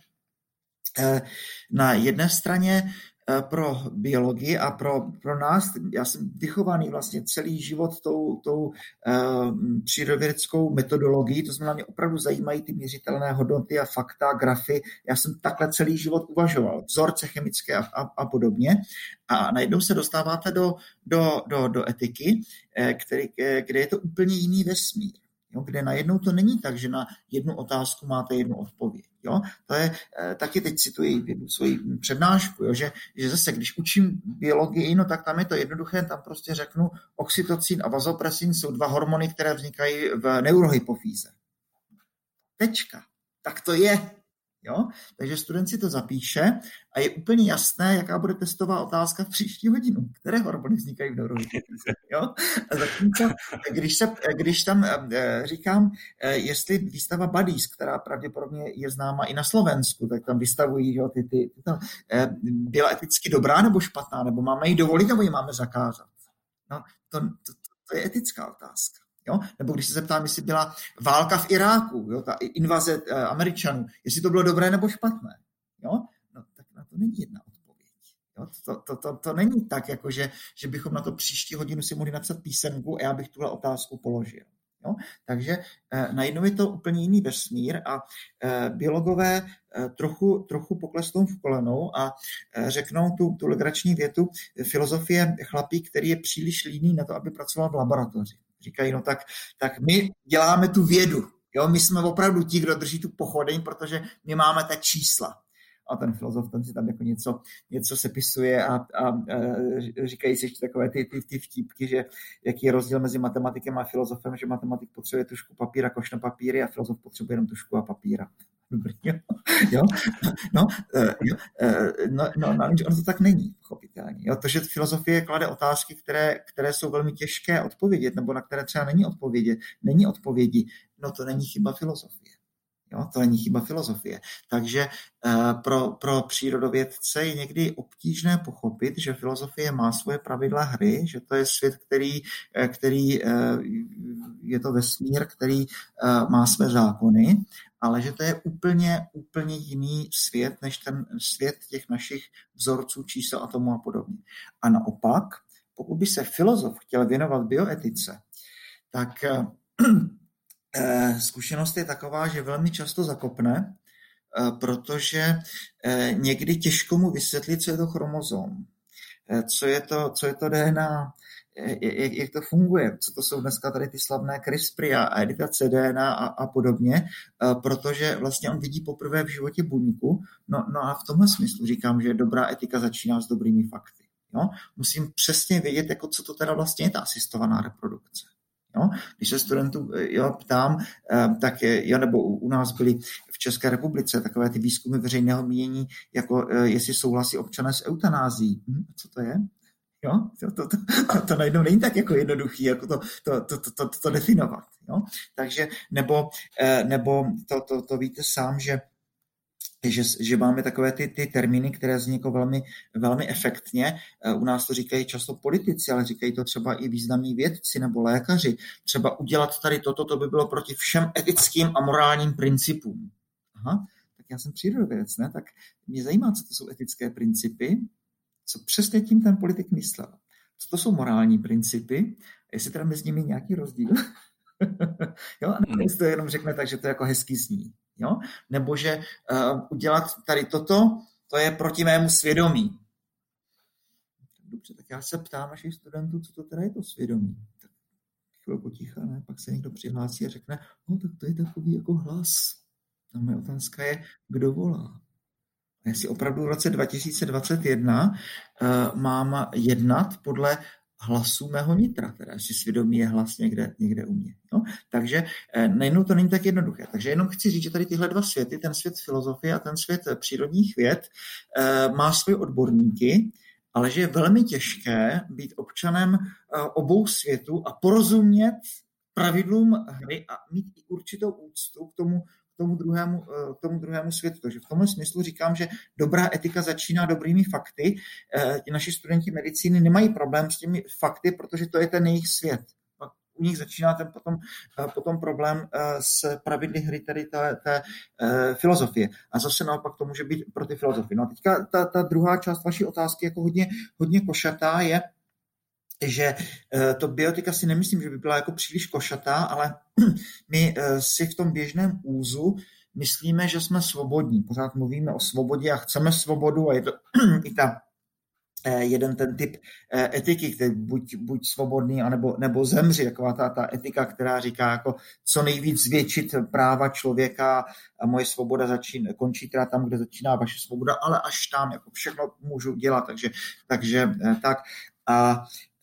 na jedné straně pro biologii a pro, pro nás, já jsem vychovaný vlastně celý život tou, tou uh, přírodovědeckou metodologií, to znamená, mě opravdu zajímají ty měřitelné hodnoty a fakta, grafy, já jsem takhle celý život uvažoval, vzorce chemické a, a, a podobně a najednou se dostáváte do, do, do, do etiky, který, kde je to úplně jiný vesmír. Jo, kde najednou to není tak, že na jednu otázku máte jednu odpověď. Jo? To je, e, taky teď cituji jednu svoji přednášku, jo? Že, že zase, když učím biologii, no tak tam je to jednoduché, tam prostě řeknu, oxytocin a vazopresin jsou dva hormony, které vznikají v neurohypofýze. Tečka. Tak to je. Jo? Takže student si to zapíše a je úplně jasné, jaká bude testová otázka v příští hodinu. Které hormony vznikají v neurohypofýze. Jo? A zatímco, když, se, když tam e, říkám, e, jestli výstava Buddies, která pravděpodobně je známa i na Slovensku, tak tam vystavují, jo, ty, ty, ty to, e, byla eticky dobrá nebo špatná, nebo máme ji dovolit, nebo ji máme zakázat. No, to, to, to je etická otázka. Jo? Nebo když se zeptám, jestli byla válka v Iráku, jo? Ta invaze e, Američanů, jestli to bylo dobré nebo špatné. Jo? No, tak na to to není jedna odpověď. Jo? To, to, to, to není tak, jako že, že bychom na to příští hodinu si mohli napsat písemku a já bych tuhle otázku položil. Jo? Takže eh, najednou je to úplně jiný vesmír a eh, biologové eh, trochu, trochu poklesnou v kolenou a eh, řeknou tu, tu legrační větu, filozofie chlapík, který je příliš líný na to, aby pracoval v laboratoři. Říkají, no tak, tak my děláme tu vědu. Jo? My jsme opravdu ti, kdo drží tu pochodeň, protože my máme ta čísla. A ten filozof ten si tam jako něco, něco sepisuje a, a, a říkají si ještě takové ty, ty, ty vtípky, že jaký je rozdíl mezi matematikem a filozofem, že matematik potřebuje tušku papíra, košno papíry a filozof potřebuje jenom tušku a papíra. Dobrý, jo? Jo? No, jo? No, no, no, ono to tak není, pochopitelně. Jo? To, že filozofie klade otázky, které, které jsou velmi těžké odpovědět, nebo na které třeba není odpovědět, není odpovědi, no to není chyba filozofie. Jo, to není chyba filozofie. Takže uh, pro, pro přírodovědce je někdy obtížné pochopit, že filozofie má svoje pravidla hry, že to je svět, který, který uh, je to vesmír, který uh, má své zákony, ale že to je úplně, úplně jiný svět, než ten svět těch našich vzorců, čísel, atomů a podobně. A naopak, pokud by se filozof chtěl věnovat bioetice, tak uh, zkušenost je taková, že velmi často zakopne, protože někdy těžko mu vysvětlit, co je to chromozom, co je to, co je to D N A, jak, jak to funguje, co to jsou dneska tady ty slavné CRISPRy a editace D N A a, a podobně, protože vlastně on vidí poprvé v životě buňku. No, no a v tomhle smyslu říkám, že dobrá etika začíná s dobrými fakty. Jo? Musím přesně vědět, jako co to teda vlastně je ta asistovaná reprodukce. Jo? Když se studentů jo, ptám, tak jo, nebo u nás byly v České republice takové ty výzkumy veřejného mínění, jako jestli souhlasí občané s eutanází. Hm, co to je? Jo? To, to, to, to, to najednou není tak jako jednoduchý, jako to, to, to, to, to, to definovat. Jo? Takže, nebo, nebo to, to, to víte sám, že Že, že máme takové ty, ty termíny, které zní jako velmi, velmi efektně. U nás to říkají často politici, ale říkají to třeba i významní vědci nebo lékaři. Třeba udělat tady toto, to by bylo proti všem etickým a morálním principům. Aha, tak já jsem přírodovědec, ne? Tak mě zajímá, co to jsou etické principy, co přesně tím ten politik myslel. Co to jsou morální principy, jestli teda mezi nimi nějaký rozdíl. Jo, a nebo to jenom řekne tak, že to jako hezký zní. Jo? Nebo že uh, udělat tady toto, to je proti mému svědomí. Dobře, tak já se ptám našich studentů, co to teda je to svědomí. Tak chvilku ticha, ne? Pak se někdo přihlásí a řekne, no tak to je takový jako hlas. A moje otázka je, kdo volá. A jestli opravdu v roce dva tisíce dvacet jedna uh, mám jednat podle hlasu mého nitra, teda jestli svědomí je hlas někde, někde u mě. No? Takže eh, nejenom to není tak jednoduché. Takže jenom chci říct, že tady tyhle dva světy, ten svět filozofie a ten svět přírodních věd, eh, má svoje odborníky, ale že je velmi těžké být občanem eh, obou světů a porozumět pravidlům hry a mít i určitou úctu k tomu, tomu druhému, k tomu druhému světu. Takže v tomhle smyslu říkám, že dobrá etika začíná dobrými fakty. Ti naši studenti medicíny nemají problém s těmi fakty, protože to je ten jejich svět. U nich začíná ten potom, potom problém s pravidly hry, tedy té, té filozofie. A zase naopak to může být pro ty filozofy. No a teďka ta, ta druhá část vaší otázky jako hodně, hodně košatá je, že to biotika si nemyslím, že by byla jako příliš košatá, ale my si v tom běžném úzu myslíme, že jsme svobodní. Pořád mluvíme o svobodě a chceme svobodu a je to i ta jeden ten typ etiky, který buď, buď svobodný, anebo, nebo zemři, taková ta, ta etika, která říká jako co nejvíc zvětšit práva člověka a moje svoboda začín, končí teda tam, kde začíná vaše svoboda, ale až tam, jako všechno můžu dělat, takže, takže tak. A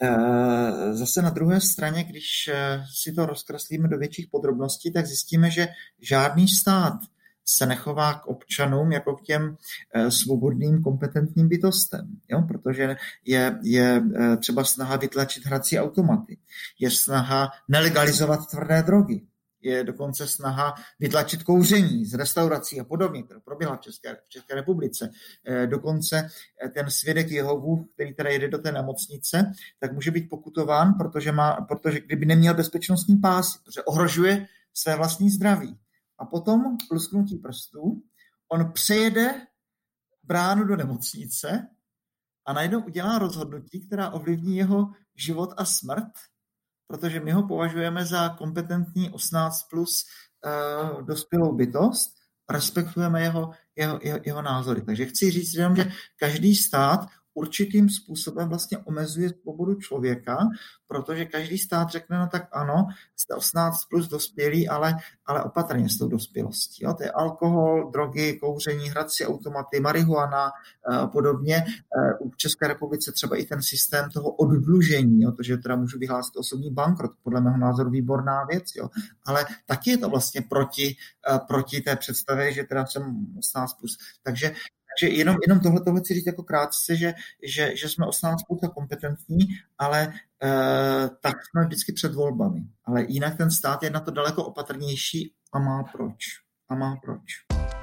zase na druhé straně, když si to rozkreslíme do větších podrobností, tak zjistíme, že žádný stát se nechová k občanům jako k těm svobodným, kompetentním bytostem, jo? Protože je, je třeba snaha vytlačit hrací automaty, je snaha nelegalizovat tvrdé drogy, je dokonce snaha vytlačit kouření z restaurací a podobně, které proběhla v České, v České republice. Dokonce ten svědek Jehovu, který teda jede do té nemocnice, tak může být pokutován, protože, má, protože kdyby neměl bezpečnostní pás, protože ohrožuje své vlastní zdraví. A potom lusknutí prstů on přejede bránu do nemocnice a najednou udělá rozhodnutí, která ovlivní jeho život a smrt, protože my ho považujeme za kompetentní osmnáct plus uh, dospělou bytost, respektujeme jeho, jeho, jeho, jeho názory. Takže chci říct jenom, že každý stát určitým způsobem vlastně omezuje svobodu člověka, protože každý stát řekne, no tak ano, jste osmnáct plus dospělí, ale, ale opatrně s tou dospělostí. Jo? To je alkohol, drogy, kouření, hrací automaty, marihuana a podobně. V České republice třeba i ten systém toho oddlužení, jo? To, že teda můžu vyhlásit osobní bankrot, podle mého názoru výborná věc, jo? Ale taky je to vlastně proti, proti té představě, že teda jsem osmnáct plus. Takže Takže jenom, jenom tohle tohle chci říct jako krátce, že, že, že jsme osmnáct plus a kompetentní, ale e, tak jsme vždycky před volbami. Ale jinak ten stát je na to daleko opatrnější a má proč. A má proč.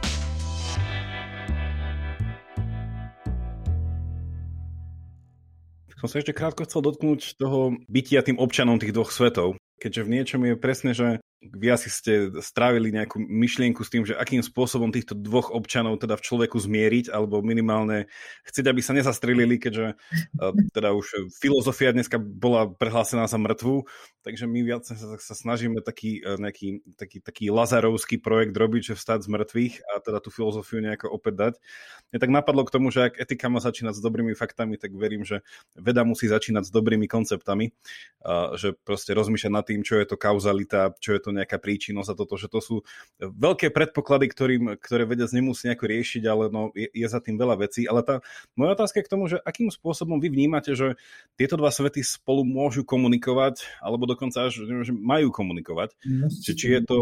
Som sa ešte krátko chcel dotknúť toho bytia tým občanom tých dvoch svetov, keďže v niečom je presne, že vy asi ste strávili nejakú myšlienku s tým, že akým spôsobom týchto dvoch občanov teda v človeku zmieriť, alebo minimálne chcieť, aby sa nezastrelili, keďže teda už filozofia dneska bola prehlásená za mŕtvu, takže my viac sa, sa snažíme taký, nejaký, taký, taký lazarovský projekt robiť, že vstať z mŕtvych a teda tú filozofiu nejako opäť dať. Mne tak napadlo k tomu, že ak etika má začínať s dobrými faktami, tak verím, že veda musí začínať s dobrými konceptami, že proste rozmýšľať nad tým, čo je to kauzalita, čo je to nejaká príčinnosť a toto, že to sú veľké predpoklady, ktorým, ktoré vedec nemusí nejako riešiť, ale no, je, je za tým veľa vecí. Ale tá moja otázka je k tomu, že akým spôsobom vy vnímate, že tieto dva svety spolu môžu komunikovať, alebo dokonca až že majú komunikovať. Či, či je to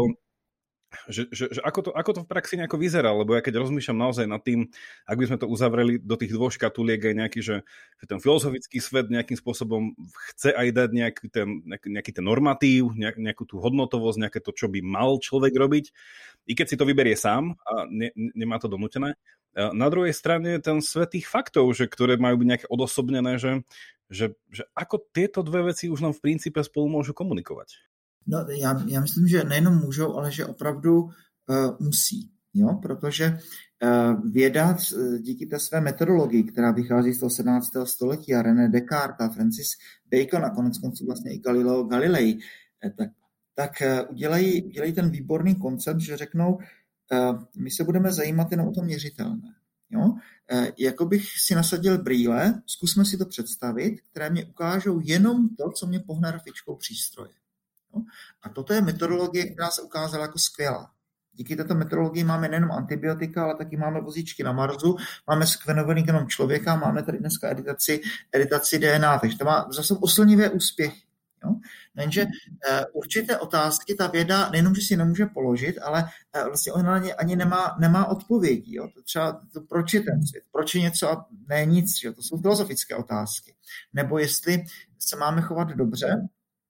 Že, že, že ako, to, ako to v praxi nejako vyzerá, lebo ja keď rozmýšľam naozaj nad tým, ak by sme to uzavreli do tých dvoch škatuliek aj nejaký, že, že ten filozofický svet nejakým spôsobom chce aj dať nejaký ten, nejaký ten normatív, nejak, nejakú tú hodnotovosť, nejaké to, čo by mal človek robiť, i keď si to vyberie sám a ne, nemá to donútené. Na druhej strane ten svet tých faktov, že, ktoré majú byť nejaké odosobnené, že, že, že ako tieto dve veci už nám v princípe spolu môžu komunikovať. No, já, já myslím, že nejenom můžou, ale že opravdu uh, musí, jo? Protože uh, věda díky té své metodologii, která vychází z toho sedmnáctého století a René Descartes a Francis Bacon a konec konců vlastně i Galileo Galilei, tak, tak uh, udělají, udělají ten výborný koncept, že řeknou, uh, my se budeme zajímat jenom o to měřitelné. Jo? Uh, jako bych si nasadil brýle, zkusme si to představit, které mě ukážou jenom to, co mě pohne rafičkou přístroje. No. A toto je metodologie, která se ukázala jako skvělá. Díky této metodologii máme nejenom antibiotika, ale taky máme vozíčky na Marsu, máme sekvenovaný genom člověka, máme tady dneska editaci, editaci D N A, takže to má zase oslnivé úspěchy. Jo? Jenže uh, určité otázky ta věda nejenom, že si nemůže položit, ale uh, vlastně ona na ně ani nemá, nemá odpovědi. Jo? To třeba to, proč je ten svět, proč je něco a ne nic, jo? To jsou filozofické otázky. Nebo jestli se máme chovat dobře,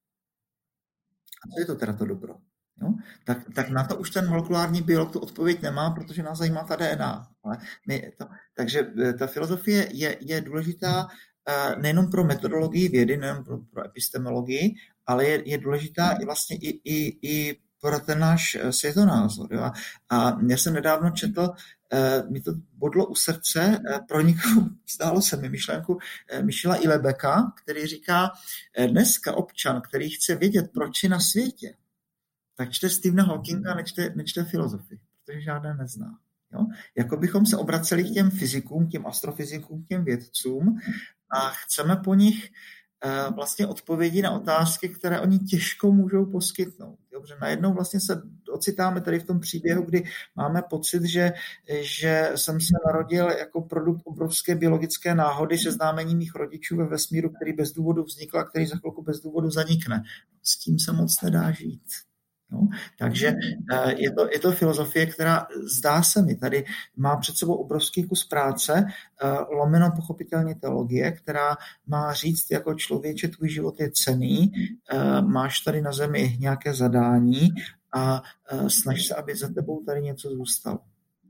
a co je to teda to dobro? Jo? Tak, tak na to už ten molekulární biolog tu odpověď nemá, protože nás zajímá ta D N A. Ale my to, takže ta filozofie je, je důležitá uh, nejenom pro metodologii vědy, nejenom pro, pro epistemologii, ale je, je důležitá i vlastně i, i, i pro ten náš světonázor. Jo? A já jsem nedávno četl, uh, mi to bodlo u srdce, uh, pro někoho zdálo se mi myšlenku uh, Michela Ilebeka, který říká, uh, dneska občan, který chce vědět, proč je na světě, tak čte Stephena Hawkinga, nečte, nečte filozofii, protože žádné nezná. Jo? Jako bychom se obraceli k těm fyzikům, k těm astrofyzikům, k těm vědcům a chceme po nich uh, vlastně odpovědi na otázky, které oni těžko můžou poskytnout. Dobře, najednou vlastně se ocitáme tady v tom příběhu, kdy máme pocit, že, že jsem se narodil jako produkt obrovské biologické náhody seznámení mých rodičů ve vesmíru, který bez důvodu vznikl a který za chvilku bez důvodu zanikne. S tím se moc nedá žít. No, takže je to, je to filozofie, která zdá se mi tady má před sebou obrovský kus práce, lomeno pochopitelně teologie, která má říct jako člověče, tvůj život je cenný, máš tady na zemi nějaké zadání a snaž se, aby za tebou tady něco zůstalo. No,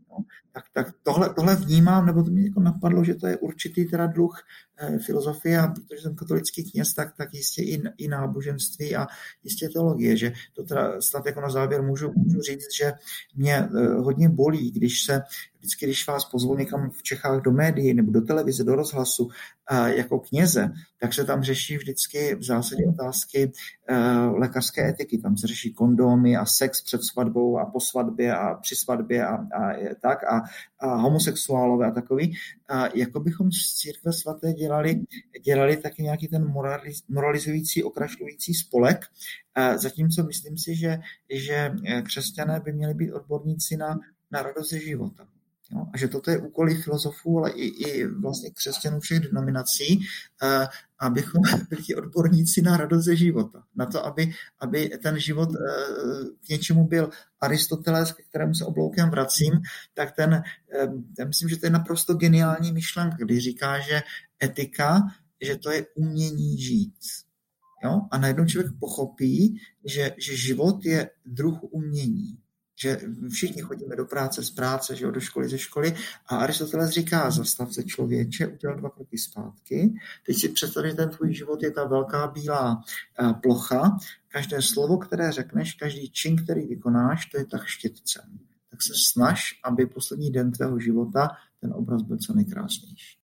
Tak, tak tohle, tohle vnímám, nebo to mě jako napadlo, že to je určitý teda druh eh, filozofie, a protože jsem katolický kněz, tak, tak jistě i, i náboženství a jistě teologie, že to teda snad jako na závěr můžu, můžu říct, že mě eh, hodně bolí, když se vždycky, když vás pozvou někam v Čechách do médií nebo do televize, do rozhlasu eh, jako kněze, tak se tam řeší vždycky v zásadě otázky eh, lékařské etiky. Tam se řeší kondómy a sex před svatbou a po svatbě a při svatbě a, a tak a, a homosexuálové a takový. A jako bychom z církve svaté dělali, dělali taky nějaký ten moraliz, moralizující, okrašlující spolek. A zatímco myslím si, že, že křesťané by měli být odborníci na, na radost ze života. Jo? A že toto je úkol i filozofů, ale i, i vlastně křesťanů všech denominací, eh, abychom byli odborníci na radost ze života. Na to, aby, aby ten život eh, k něčemu byl. Aristoteles, ke kterému se obloukem vracím, tak ten, eh, já myslím, že to je naprosto geniální myšlenka, když říká, že etika, že to je umění žít. Jo? A najednou člověk pochopí, že, že život je druh umění. Že všichni chodíme do práce, z práce, že jo, do školy, ze školy. A Aristoteles říká, zastav se člověče, udělal dva kroky zpátky. Teď si představ, že ten tvůj život je ta velká bílá plocha. Každé slovo, které řekneš, každý čin, který vykonáš, to je tak štětcem. Tak se snaž, aby poslední den tvého života ten obraz byl co nejkrásnější.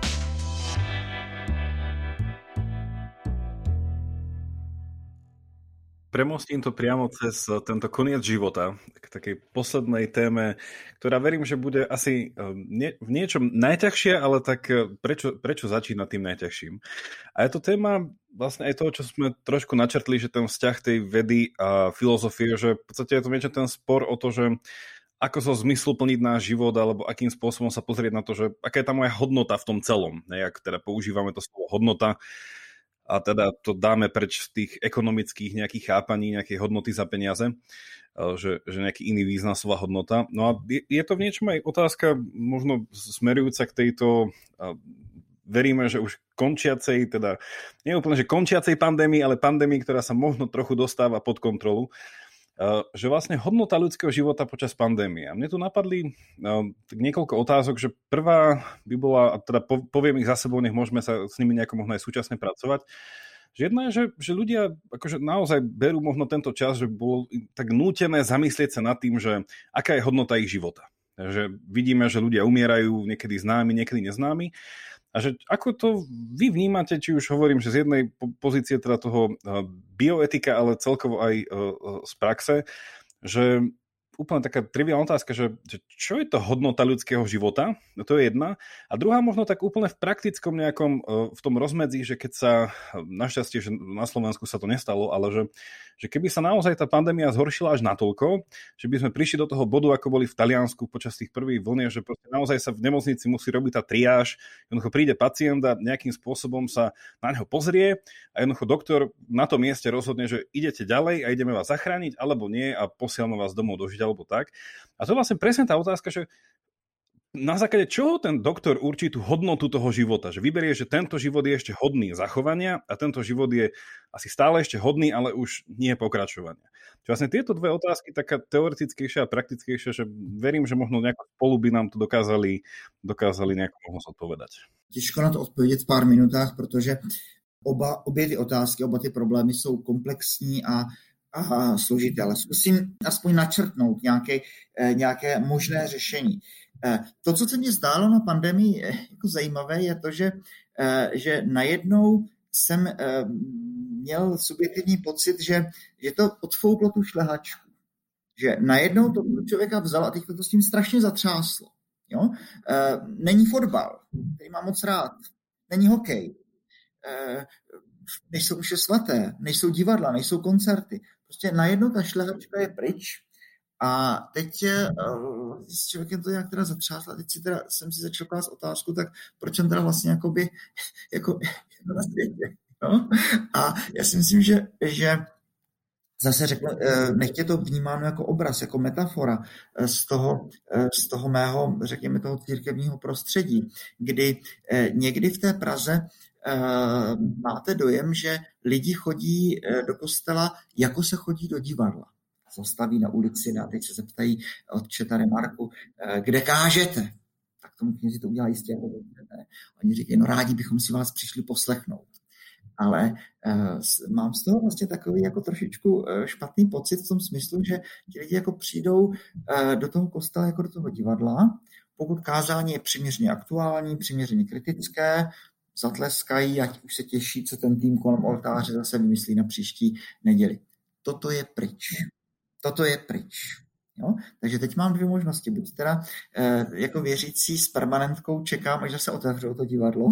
Premostím to priamo cez tento koniec života k takej poslednej téme, ktorá verím, že bude asi nie, v niečom najťažšia, ale tak prečo, prečo začínať tým najťažším? A je to téma vlastne aj toho, čo sme trošku načrtli, že ten vzťah tej vedy a filozofie, že v podstate je to niečo ten spor o to, že ako so zmysluplniť náš život, alebo akým spôsobom sa pozrieť na to, že aká je tá moja hodnota v tom celom. Jak teda používame to slovo hodnota, a teda to dáme preč z tých ekonomických nejakých chápaní, nejakej hodnoty za peniaze, že, že nejaký iný význam slova hodnota. No a je, je to v niečom aj otázka možno smerujúca k tejto, veríme, že už končiacej, teda nie úplne, že končiacej pandémii, ale pandémii, ktorá sa možno trochu dostáva pod kontrolu, že vlastne hodnota ľudského života počas pandémie. A mne tu napadli niekoľko otázok, že prvá by bola, a teda poviem ich za sebou, nech môžeme sa s nimi nejako možno aj súčasne pracovať, že jedna je, že, že ľudia akože naozaj berú možno tento čas, že bolo tak nútené zamyslieť sa nad tým, že aká je hodnota ich života. Že vidíme, že ľudia umierajú, niekedy známi, niekedy neznámi. A že ako to vy vnímate, či už hovorím, že z jednej pozície teda toho bioetika, ale celkovo aj z praxe, že úplne taká triviálna otázka, že, že čo je to hodnota ľudského života? No to je jedna. A druhá možno tak úplne v praktickom nejakom, v tom rozmedzi, že keď sa, našťastie, že na Slovensku sa to nestalo, ale že, že keby sa naozaj tá pandémia zhoršila až natoľko, že by sme prišli do toho bodu, ako boli v Taliansku počas tých prvých vlniek, že proste naozaj sa v nemocnici musí robiť tá triáž, jednoducho príde pacient a nejakým spôsobom sa na neho pozrie a jednoducho doktor na tom mieste rozhodne, že idete ďalej a ideme vás zachrániť, alebo nie a posielame vás domov dožiť alebo tak. A to je vlastne presne tá otázka, že na základe čoho ten doktor určí tú hodnotu toho života? Že vyberie, že tento život je ešte hodný zachovania a tento život je asi stále ešte hodný, ale už nie pokračovania. Čiže vlastne tieto dve otázky, taká teoretickejšia a praktickejšia, že verím, že možno nejako spolu by nám to dokázali, dokázali nejako možno odpovedať. Těžko na to odpovědět v pár minutách, protože oba, obě ty otázky, oba ty problémy jsou komplexní a a složité, ale zkusím aspoň načrtnout nějaké, nějaké možné řešení. To, co se mi zdálo na pandemii jako zajímavé, je to, že, že najednou jsem měl subjektivní pocit, že, že to odfouklo tu šlehačku. Že najednou to člověka vzal a teď to s tím strašně zatřáslo. Jo? Není fotbal, který mám moc rád. Není hokej. Nejsou už svaté, nejsou divadla, nejsou koncerty. Prostě najednou ta šlehačka je pryč a teď uh, s člověkem to nějak teda zatřásla. Teď si teda, jsem si začal klást otázku, tak proč jsem teda vlastně jakoby, jako, jako na světě. No? A já si myslím, že, že zase řeknu, nechtě to vnímáno jako obraz, jako metafora z toho, z toho mého, řekněme, toho církevního prostředí, kdy někdy v té Praze máte dojem, že lidi chodí do kostela, jako se chodí do divadla. zastaví na ulici a teď se zeptají otče tady Marku, kde kážete? Tak tomu knězi to udělá jistě. Ne? Oni říkají, no rádi bychom si vás přišli poslechnout. Ale uh, mám z toho vlastně takový jako trošičku uh, špatný pocit v tom smyslu, že ti lidi jako přijdou uh, do toho kostela jako do toho divadla, pokud kázání je přiměřeně aktuální, přiměřeně kritické, zatleskají, ať už se těší, co ten tým kolem oltáře zase vymyslí na příští neděli. Toto je pryč. Toto je pryč. Jo? Takže teď mám dvě možnosti. Buď teda eh, jako věřící s permanentkou čekám, až se otevřou to divadlo,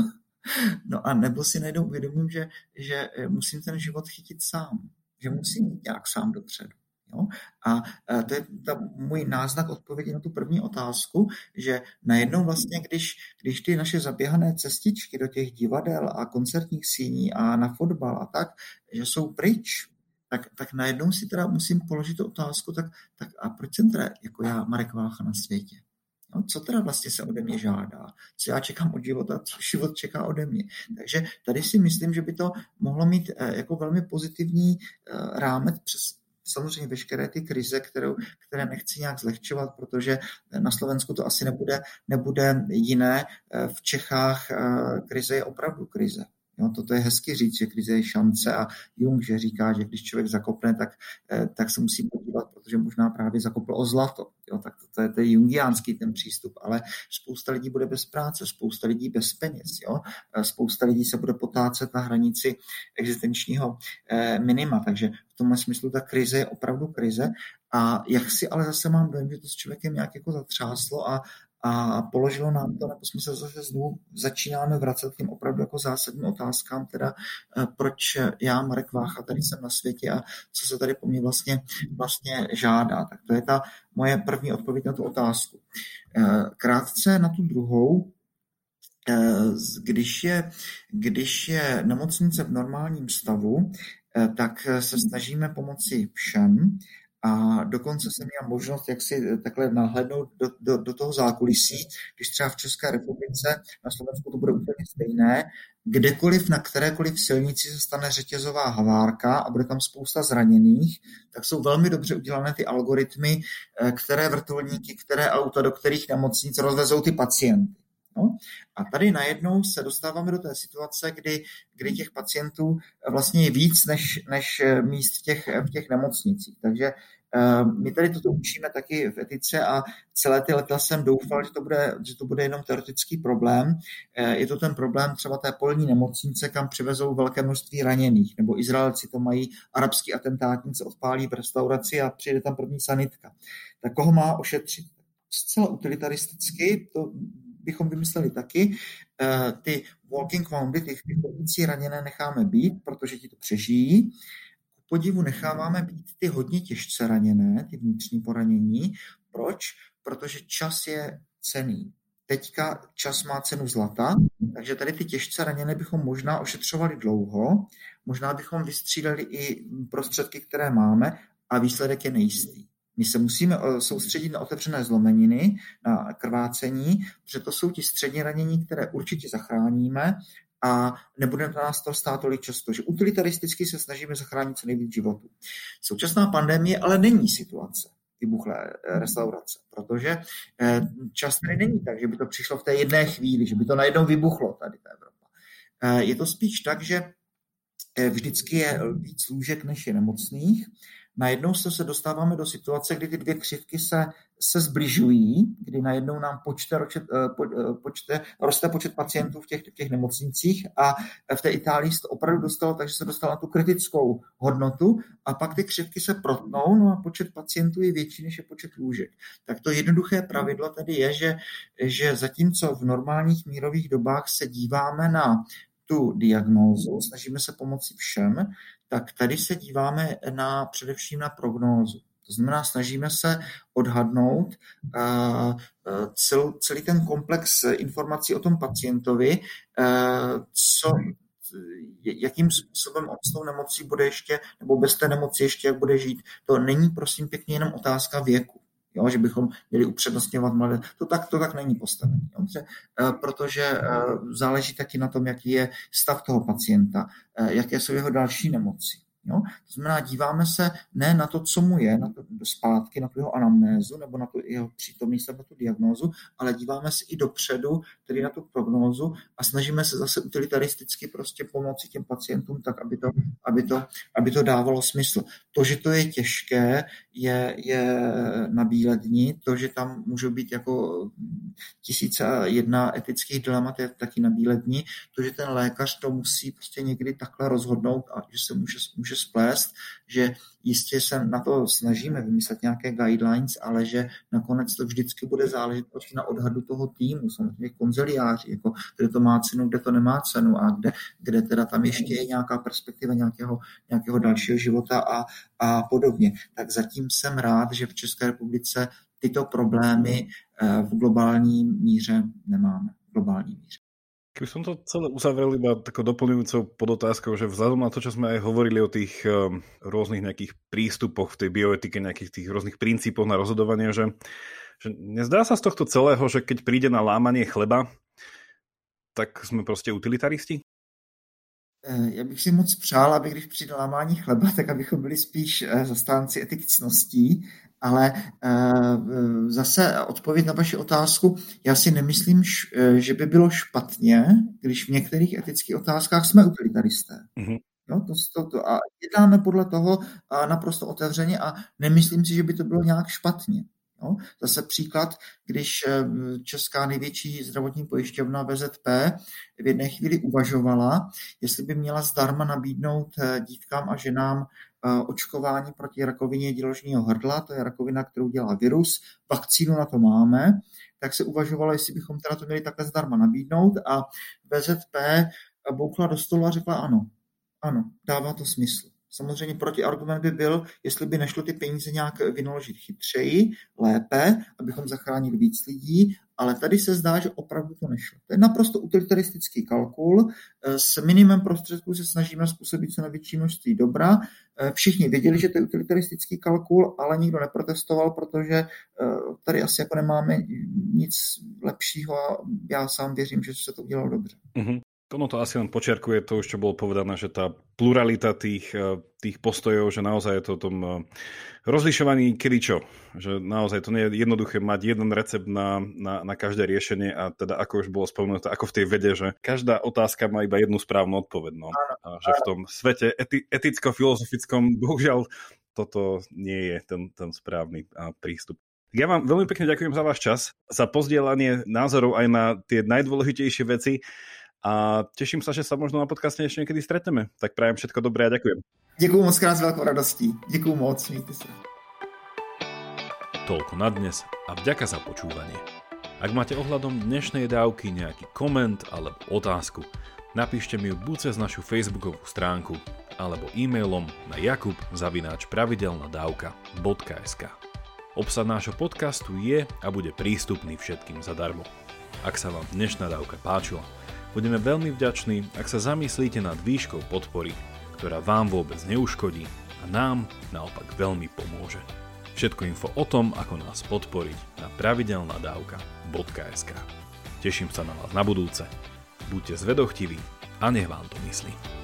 no a nebo si najednou uvědomím, že, že musím ten život chytit sám. Že musím jít nějak sám dopředu. Jo? A to je ta můj náznak odpovědi na tu první otázku, že najednou vlastně, když, když ty naše zaběhané cestičky do těch divadel a koncertních síní a na fotbal a tak, že jsou pryč, tak, tak najednou si teda musím položit tu otázku, tak, tak a proč jsem teda jako já, Marek Vácha, na světě? No, co teda vlastně se ode mě žádá? Co já čekám od života, co život čeká ode mě? Takže tady si myslím, že by to mohlo mít jako velmi pozitivní rámec přes samozřejmě veškeré ty krize, kterou, které nechci nějak zlehčovat, protože na Slovensku to asi nebude, nebude jiné. V Čechách krize je opravdu krize. Jo, toto je hezky říct, že krize je šance a Jung, že říká, že když člověk zakopne, tak, tak se musí podívat, protože možná právě zakopl o zlato. Jo, tak to, to, je, to je jungiánský ten přístup, ale spousta lidí bude bez práce, spousta lidí bez peněz. Jo? Spousta lidí se bude potácet na hranici existenčního eh, minima, takže v tomhle smyslu ta krize je opravdu krize a jak si ale zase mám dojem, že to s člověkem nějak jako zatřáslo a A položilo nám to, nebo jsme se zase znovu začínáme vracet k těm opravdu jako zásadním otázkám, teda proč já, Marek Vácha, tady jsem na světě a co se tady po mně vlastně, vlastně žádá. Tak to je ta moje první odpověď na tu otázku. Krátce na tu druhou, když je, když je nemocnice v normálním stavu, tak se snažíme pomoci všem, a dokonce jsem měl možnost, jak si takhle nahlédnout do, do, do toho zákulisí, když třeba v České republice, na Slovensku to bude úplně stejné, kdekoliv na kterékoliv silnici se stane řetězová havárka a bude tam spousta zraněných, tak jsou velmi dobře udělané ty algoritmy, které vrtulníky, které auta, do kterých nemocnic rozvezou ty pacienty. No? A tady najednou se dostáváme do té situace, kdy, kdy těch pacientů vlastně je víc než, než míst v těch, v těch nemocnicích. Takže uh, my tady toto učíme taky v etice a celé ty leta jsem doufal, že to bude, že to bude jenom teoretický problém. Uh, je to ten problém třeba té polní nemocnice, kam přivezou velké množství raněných, nebo Izraelci to mají, arabský atentátník se odpálí v restauraci a přijde tam první sanitka. Tak koho má ošetřit? Zcela utilitaristicky to bychom vymysleli taky. Ty walking wounded, ty chodící raněné necháme být, protože ti to přežijí. Ku podivu necháváme být ty hodně těžce raněné, ty vnitřní poranění. Proč? Protože čas je cenný. Teďka čas má cenu zlata, takže tady ty těžce raněné bychom možná ošetřovali dlouho, možná bychom vystřídali i prostředky, které máme a výsledek je nejistý. My se musíme soustředit na otevřené zlomeniny, na krvácení, protože to jsou ti středně ranění, které určitě zachráníme a nebude nás to stát tolik často, že utilitaristicky se snažíme zachránit co nejvíc životů. Současná pandemie ale není situace vybuchlé restaurace, protože čas tady není tak, že by to přišlo v té jedné chvíli, že by to najednou vybuchlo tady ta Evropa. Je to spíš tak, že vždycky je víc lůžek, než je nemocných. Najednou se dostáváme do situace, kdy ty dvě křivky se, se zbližují, kdy najednou nám počte, po, počte, roste počet pacientů v těch, v těch nemocnicích a v té Itálii se to opravdu dostalo, takže se dostalo na tu kritickou hodnotu a pak ty křivky se protnou, no a počet pacientů je větší, než je počet lůžek. Tak to jednoduché pravidlo tady je, že, že zatímco v normálních mírových dobách se díváme na tu diagnózu, snažíme se pomoci všem, tak tady se díváme na, především na prognózu. To znamená, snažíme se odhadnout uh, cel, celý ten komplex informací o tom pacientovi, uh, co, jakým způsobem on s tou nemocí bude ještě, nebo bez té nemoci ještě, jak bude žít. To není, prosím pěkně, jenom otázka věku. Jo, že bychom měli upřednostňovat mladé. To tak, to tak není postavené. Dobře? Protože záleží taky na tom, jaký je stav toho pacienta, jaké jsou jeho další nemoci. Jo? To znamená, díváme se ne na to, co mu je, na to zpátky, na tu jeho anamnézu nebo na tu jeho přítomnost nebo tu diagnózu, ale díváme se i dopředu, tedy na tu prognózu a snažíme se zase utilitaristicky prostě pomoci těm pacientům tak, aby to, aby to, aby to dávalo smysl. To, že to je těžké, je, je na bíledni, to, že tam můžou být jako tisíce a jedna etických dilemat, je taky na bíledni, to, že ten lékař to musí prostě někdy takhle rozhodnout a že se může, může splést, že jistě se na to snažíme vymyslet nějaké guidelines, ale že nakonec to vždycky bude záležet prostě na odhadu toho týmu, samozřejmě konziliáři, jako kde to má cenu, kde to nemá cenu a kde, kde teda tam ještě je nějaká perspektiva nějakého, nějakého dalšího života a, a podobně. Tak zatím jsem rád, že v České republice tyto problémy v globální míře nemáme. V globální míře. Keby som to celé uzavrel iba takou doplňujúcou podotázkou, že vzhľadom na to, čo sme aj hovorili o tých um, rôznych nejakých prístupoch v tej bioetike, nejakých tých rôznych princípoch na rozhodovanie, že, že nezdá sa z tohto celého, že keď príde na lámanie chleba, tak sme proste utilitaristi? Já bych si moc přál, aby když přijde lámání chleba, tak abychom byli spíš zastánci etik ctností, ale zase odpověď na vaši otázku, já si nemyslím, že by bylo špatně, když v některých etických otázkách jsme utilitaristé. Mm-hmm. No, to, to, to, a jednáme podle toho naprosto otevřeně a nemyslím si, že by to bylo nějak špatně. No, zase příklad, když česká největší zdravotní pojišťovna V Z P v jedné chvíli uvažovala, jestli by měla zdarma nabídnout dítkám a ženám očkování proti rakovině děložního hrdla, to je rakovina, kterou dělá virus, vakcínu na to máme, tak se uvažovalo, jestli bychom teda to měli takhle zdarma nabídnout a V Z P boukla do stolu a řekla ano, ano, dává to smysl. Samozřejmě protiargument by byl, jestli by nešlo ty peníze nějak vynaložit chytřeji, lépe, abychom zachránili víc lidí, ale tady se zdá, že opravdu to nešlo. To je naprosto utilitaristický kalkul. S minimem prostředků se snažíme způsobit co největší množství dobra. Všichni věděli, že to je utilitaristický kalkul, ale nikdo neprotestoval, protože tady asi jako nemáme nic lepšího a já sám věřím, že se to udělalo dobře. Mm-hmm. Ono to asi len počiarkuje to, už čo bolo povedané, že tá pluralita tých, tých postojov, že naozaj je to o tom rozlišovaní kedy čo. Že naozaj to nie je jednoduché mať jeden recept na, na, na každé riešenie a teda ako už bolo spomenuté, ako v tej vede, že každá otázka má iba jednu správnu odpoveď. No. A že v tom svete eti, eticko-filozofickom bohužiaľ toto nie je ten, ten správny prístup. Ja vám veľmi pekne ďakujem za váš čas, za pozdieľanie názorov aj na tie najdôležitejšie veci. A teším sa, že sa možno na podcaste ešte niekedy stretneme. Tak prajem všetko dobré a ďakujem. Ďakujem moc krát s veľkou radostí. Ďakujem moc, mějte sa. Toľko na dnes a vďaka za počúvanie. Ak máte ohľadom dnešnej dávky nejaký koment alebo otázku, napíšte mi ju buď cez našu facebookovú stránku alebo e-mailom na jakub zavináč pravidelnadavka bodka es ká. Obsah nášho podcastu je a bude prístupný všetkým zadarmo. Ak sa vám dnešná dávka páčila, budeme veľmi vďační, ak sa zamyslíte nad výškou podpory, ktorá vám vôbec neuškodí a nám naopak veľmi pomôže. Všetko info o tom, ako nás podporiť na pravidelnadavka bodka es ká. Teším sa na vás na budúce. Buďte zvedochtiví a nech vám to myslí.